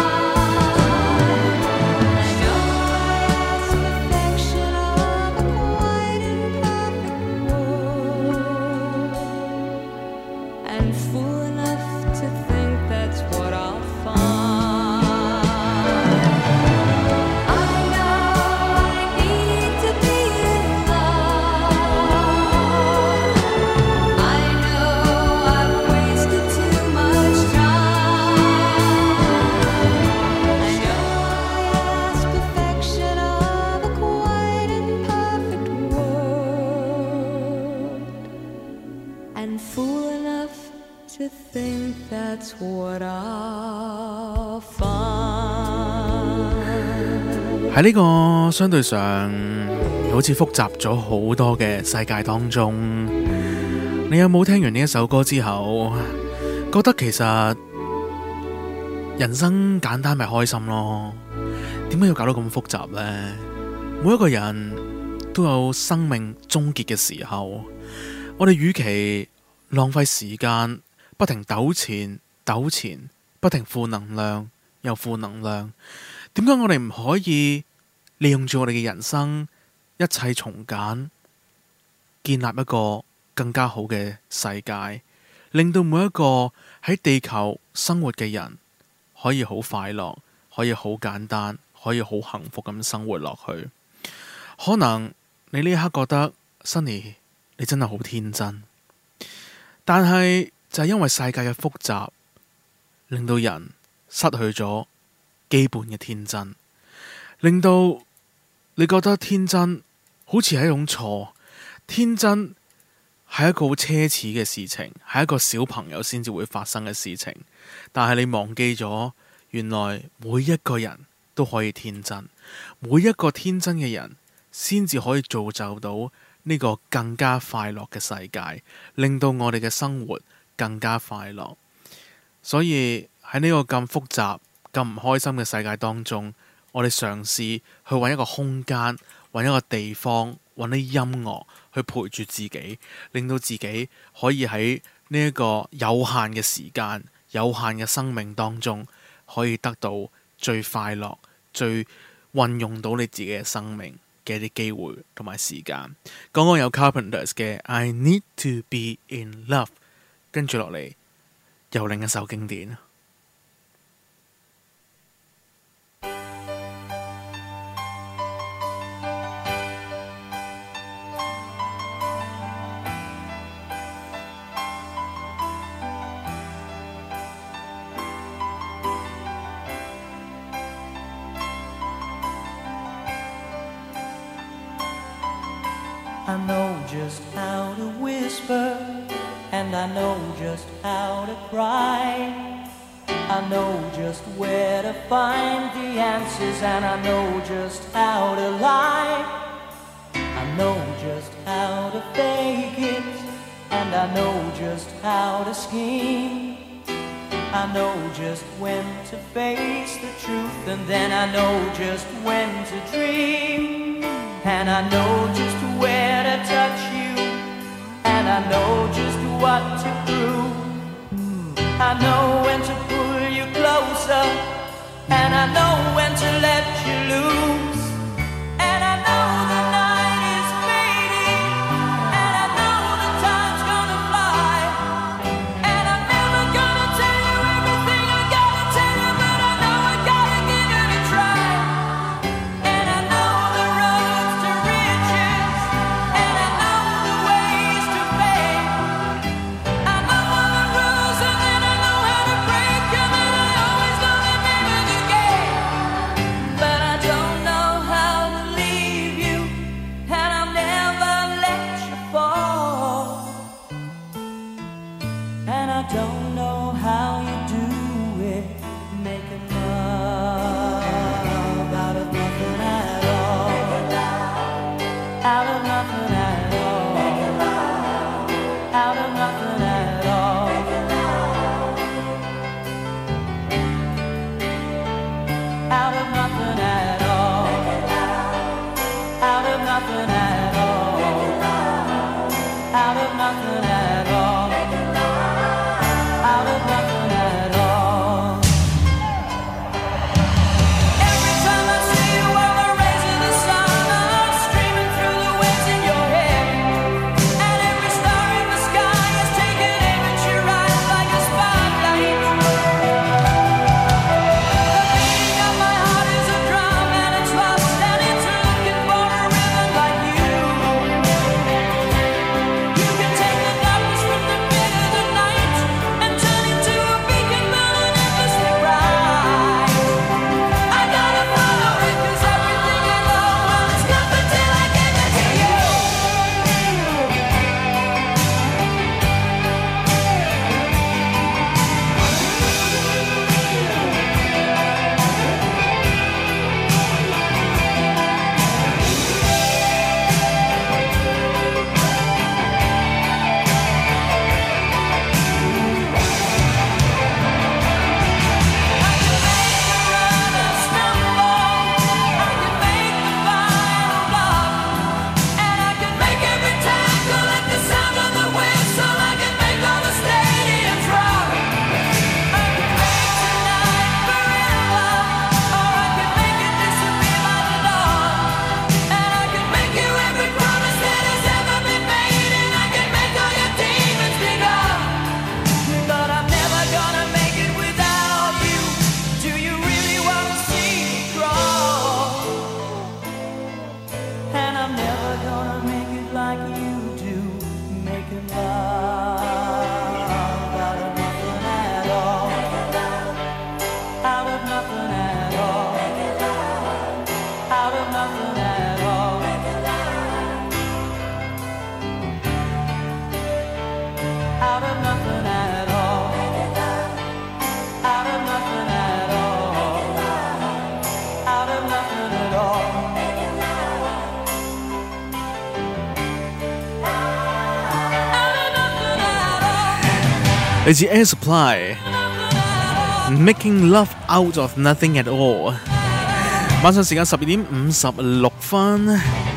[SPEAKER 11] I know I asked perfection of a quite imperfect world, and fool enough to think that's what I'll find. I know I need to be in love. I know I've wasted too much time. I know I asked perfection of a quite imperfect world, and fool enough to think that's what I'll find.
[SPEAKER 3] 喺呢個相對上好似複雜咗好多嘅世界當中，你有冇聽完呢一首歌之後，覺得其實人生簡單咪開心咯？點解要搞到咁複雜呢？每一個人都有生命終結嘅時候，我哋與其浪費時間不停糾纏糾纏，不停負能量又負能量。點解我哋唔可以利用住我哋嘅人生，一切從簡，建立一個更加好嘅世界，令到每一個喺地球生活嘅人可以好快樂，可以好簡單，可以好幸福咁生活落去。可能你呢一刻覺得 Sunny 你真係好天真，但係就係因為世界嘅複雜，令到人失去咗基本嘅天真，令到你覺得天真好似係一種錯。天真係一個好奢侈嘅事情，係一個小朋友先至會發生嘅事情。但係你忘記咗，原來每一個人都可以天真，每一個天真嘅人先至可以造就到呢個更加快樂嘅世界，令到我哋嘅生活更加快樂。所以喺呢個咁複雜、咁唔開心嘅世界當中，我哋嘗試去揾一個空間，揾一個地方，揾啲音樂去陪住自己，令到自己可以喺呢一個有限嘅時間、有限嘅生命當中，可以得到最快樂、最運用到你自己嘅生命嘅一啲機會同埋時間。剛剛有 Carpenters 嘅 I Need to Be in Love， 跟住落嚟又另一首經典。
[SPEAKER 13] I know just how to whisper, and I know just how to cry. I know just where to find the answers, and I know just how to lie. I know just how to fake it, and I know just how to scheme. I know just when to face the truth, and then I know just when to dream. And I know just where to touch you, and I know just what to prove. I know when to pull you closer, and I know when to let you loose. And I know the night is fading, and I know the time's gonna fly. And I'm never gonna tell you everything I gotta tell you, but I know I gotta give it a try. And I know the roads to riches, and I know the ways to fame. I know all the rules, and then I know how to break them, and I always know the name of the game. But I don't know how to leave you, and I'll never let you fall. And I don't know how you do it, making love out of nothing at all. Out of nothing at all. Out of nothing at all. Out of nothing at all. Out of nothing at all. Out of nothing at all. Out of nothing at all.
[SPEAKER 3] 嚟自 Air Supply Making Love Out of Nothing at All。晚上時間12點56分，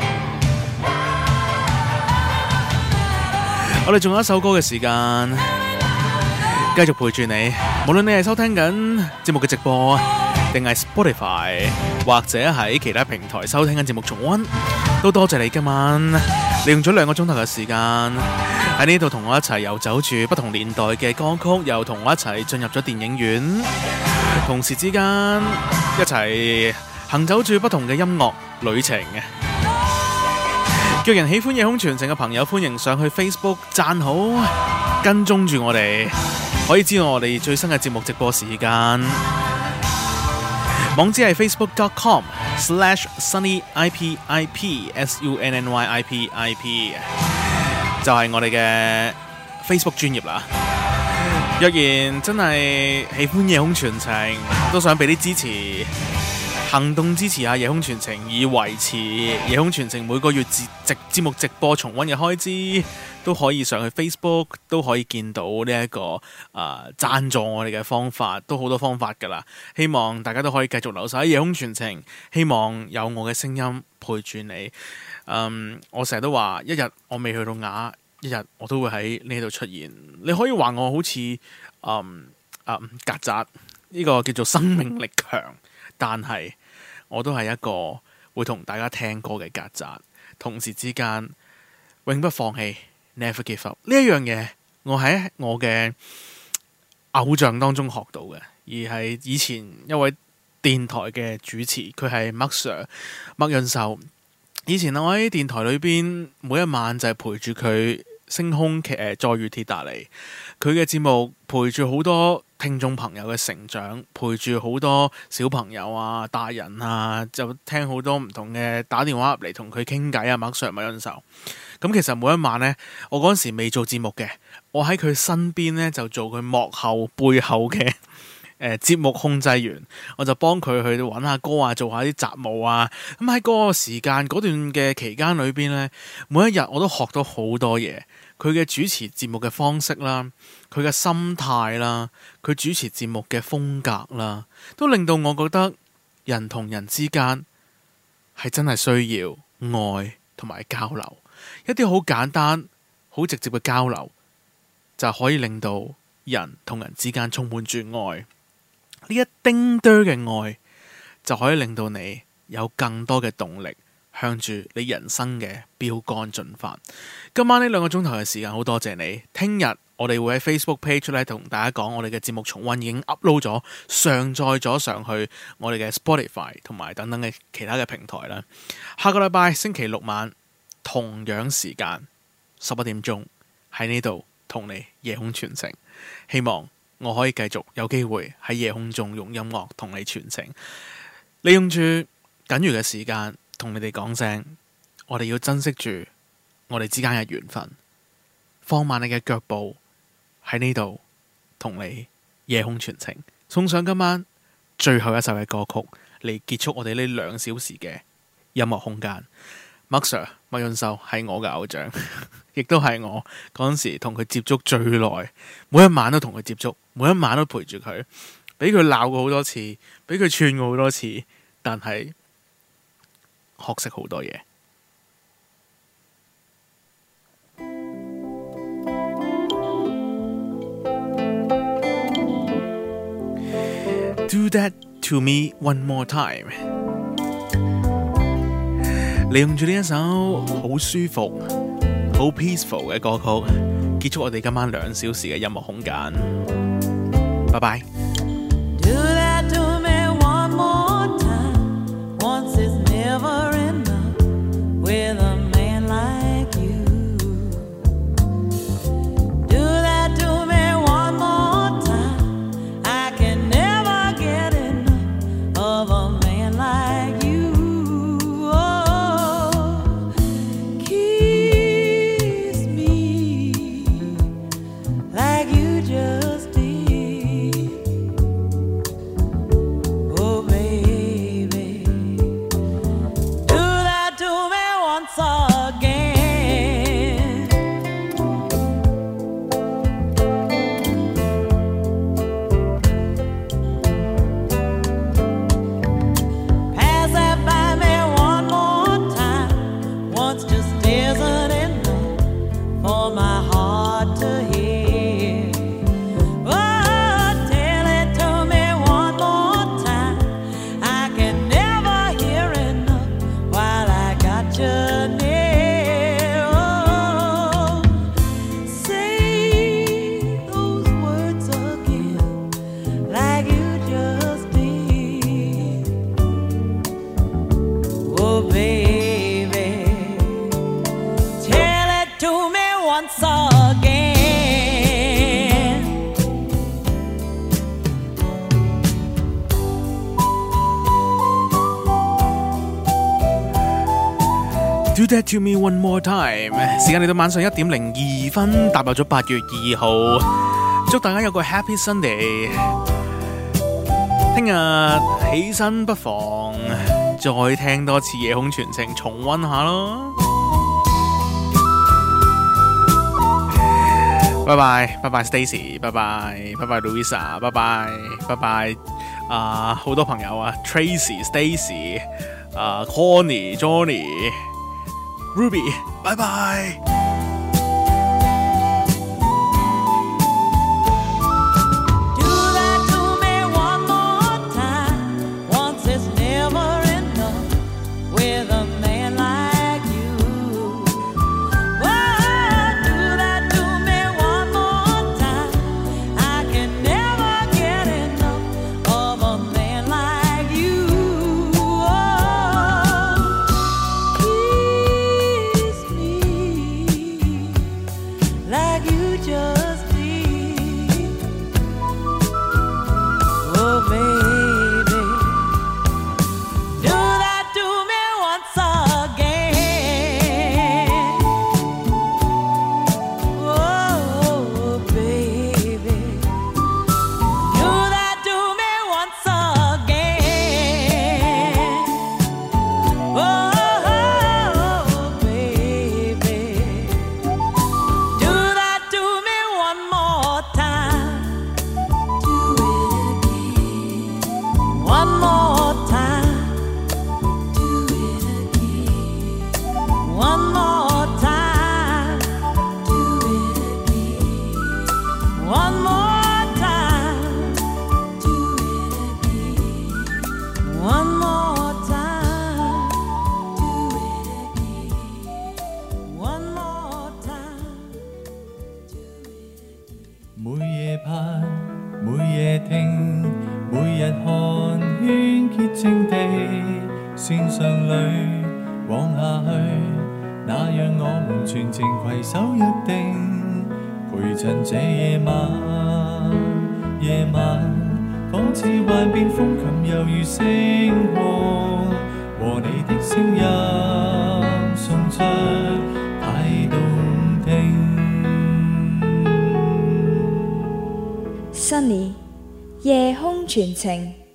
[SPEAKER 3] 我哋仲有一首歌嘅時間，繼續陪住你。無論你係收聽緊節目嘅直播，定係 Spotify 或者喺其他平台收聽緊節目重溫，都多謝你今晚利用咗2個鐘頭嘅時間喺呢度同我一齊遊走住不同年代嘅歌曲，又同我一齊進入咗電影院，同時之間一齊行走住不同嘅音樂旅程。若人喜歡夜空傳情嘅朋友，歡迎上去 Facebook 讚好，跟蹤住我哋，可以知道我哋最新嘅節目直播時間。網址係 facebook.com/sunnyipip，SUNNYIPIP， 就係我哋嘅 Facebook 專頁啦。若然真係喜歡夜空傳情，都想俾啲支持，行動支持下夜空傳情，以維持夜空傳情每個月節目直播重溫嘅開支，都可以上去 Facebook， 都可以見到呢一個贊助我哋嘅方法，都好多方法㗎啦。希望大家都可以繼續留守喺夜空傳情，希望有我嘅聲音陪住你。我成日都話，一日我未去到啞，一日我都會喺呢度出現。你可以話我好似曱甴，呢個叫做生命力強，但係我都係一個會同大家聽歌嘅曱甴，同時之間永不放棄 Never give up 呢一樣嘢，我喺我嘅偶像當中學到嘅，而係以前一位電台嘅主持，佢係麥 Sir 麥潤壽。以前我喺電台裏邊每一晚就係陪住佢星空再遇鐵達尼，佢嘅節目陪住好多聽眾朋友嘅成長，陪住好多小朋友啊、大人啊，就聽好多唔同嘅打電話入嚟同佢傾偈啊。麥 Sir 麥潤壽，咁其實每一晚呢，我嗰陣時未做節目嘅，我喺佢身邊呢，就做佢幕後背後嘅節目控制員，我就幫佢去揾下歌啊，做下啲雜務啊。咁喺嗰個時間嗰段嘅期間裏邊呢，每一日我都學到好多嘢。佢嘅主持節目嘅方式啦，佢嘅心態啦，佢主持節目嘅風格啦，都令到我覺得人同人之間係真係需要愛同埋交流。一啲好簡單、好直接嘅交流，就可以令到人同人之間充滿住愛。呢一丁堆嘅愛就可以令到你有更多嘅動力向住你人生嘅標杆進發。今晚呢2個鐘頭嘅時間好多謝你。聽日我哋會喺 Facebook page 咧同大家講，我哋嘅節目重溫已經 upload 咗，上載咗上去我哋嘅 Spotify 同埋等等嘅其他嘅平台啦。下個禮拜星期6晚同樣時間11點鐘喺呢度同你夜空傳情，希望我可以繼續有機會喺夜空中用音樂同你傳情，利用住僅餘嘅時間同你哋講聲，我哋要珍惜住我哋之間嘅緣分，放慢你嘅腳步喺呢度同你夜空傳情，送上今晚最後一首嘅歌曲嚟結束我哋呢2小時嘅音樂空間。麥 Sir 麥潤壽係我嘅偶像，亦都係我嗰陣時同佢接觸最耐，每一晚都同佢接觸，每一晚都陪住佢，俾佢鬧過好多次，俾佢串過好多次，但係學識好多嘢。Do that to me one more time。利用住呢一首好舒服、好 peaceful 嘅歌曲，結束我哋今晚2小時嘅音樂空間。拜拜。
[SPEAKER 14] Do that to me one more time. Once is never enough with a man like you. Do that to me one more time. I can never get enough of a man like you. Oh, kiss me like you just did.
[SPEAKER 3] Do that to me one more time。時間嚟到晚上1:02，踏入咗8月2號，祝大家有個 Happy Sunday。聽日起身不妨再聽多次夜空傳情，重溫下咯。拜拜，拜拜 Stacy， 拜拜，拜拜 Louisa， 拜拜，拜拜好多朋友啊 ，Tracy、Stacy、Connie、Johnny、Ruby， 拜拜。線上裏往下去，那讓我們全程攜手約定，陪襯這夜晚。夜晚仿似幻變風琴，猶如星空，和你的聲音送出太動聽。
[SPEAKER 2] Sunny 夜空傳情。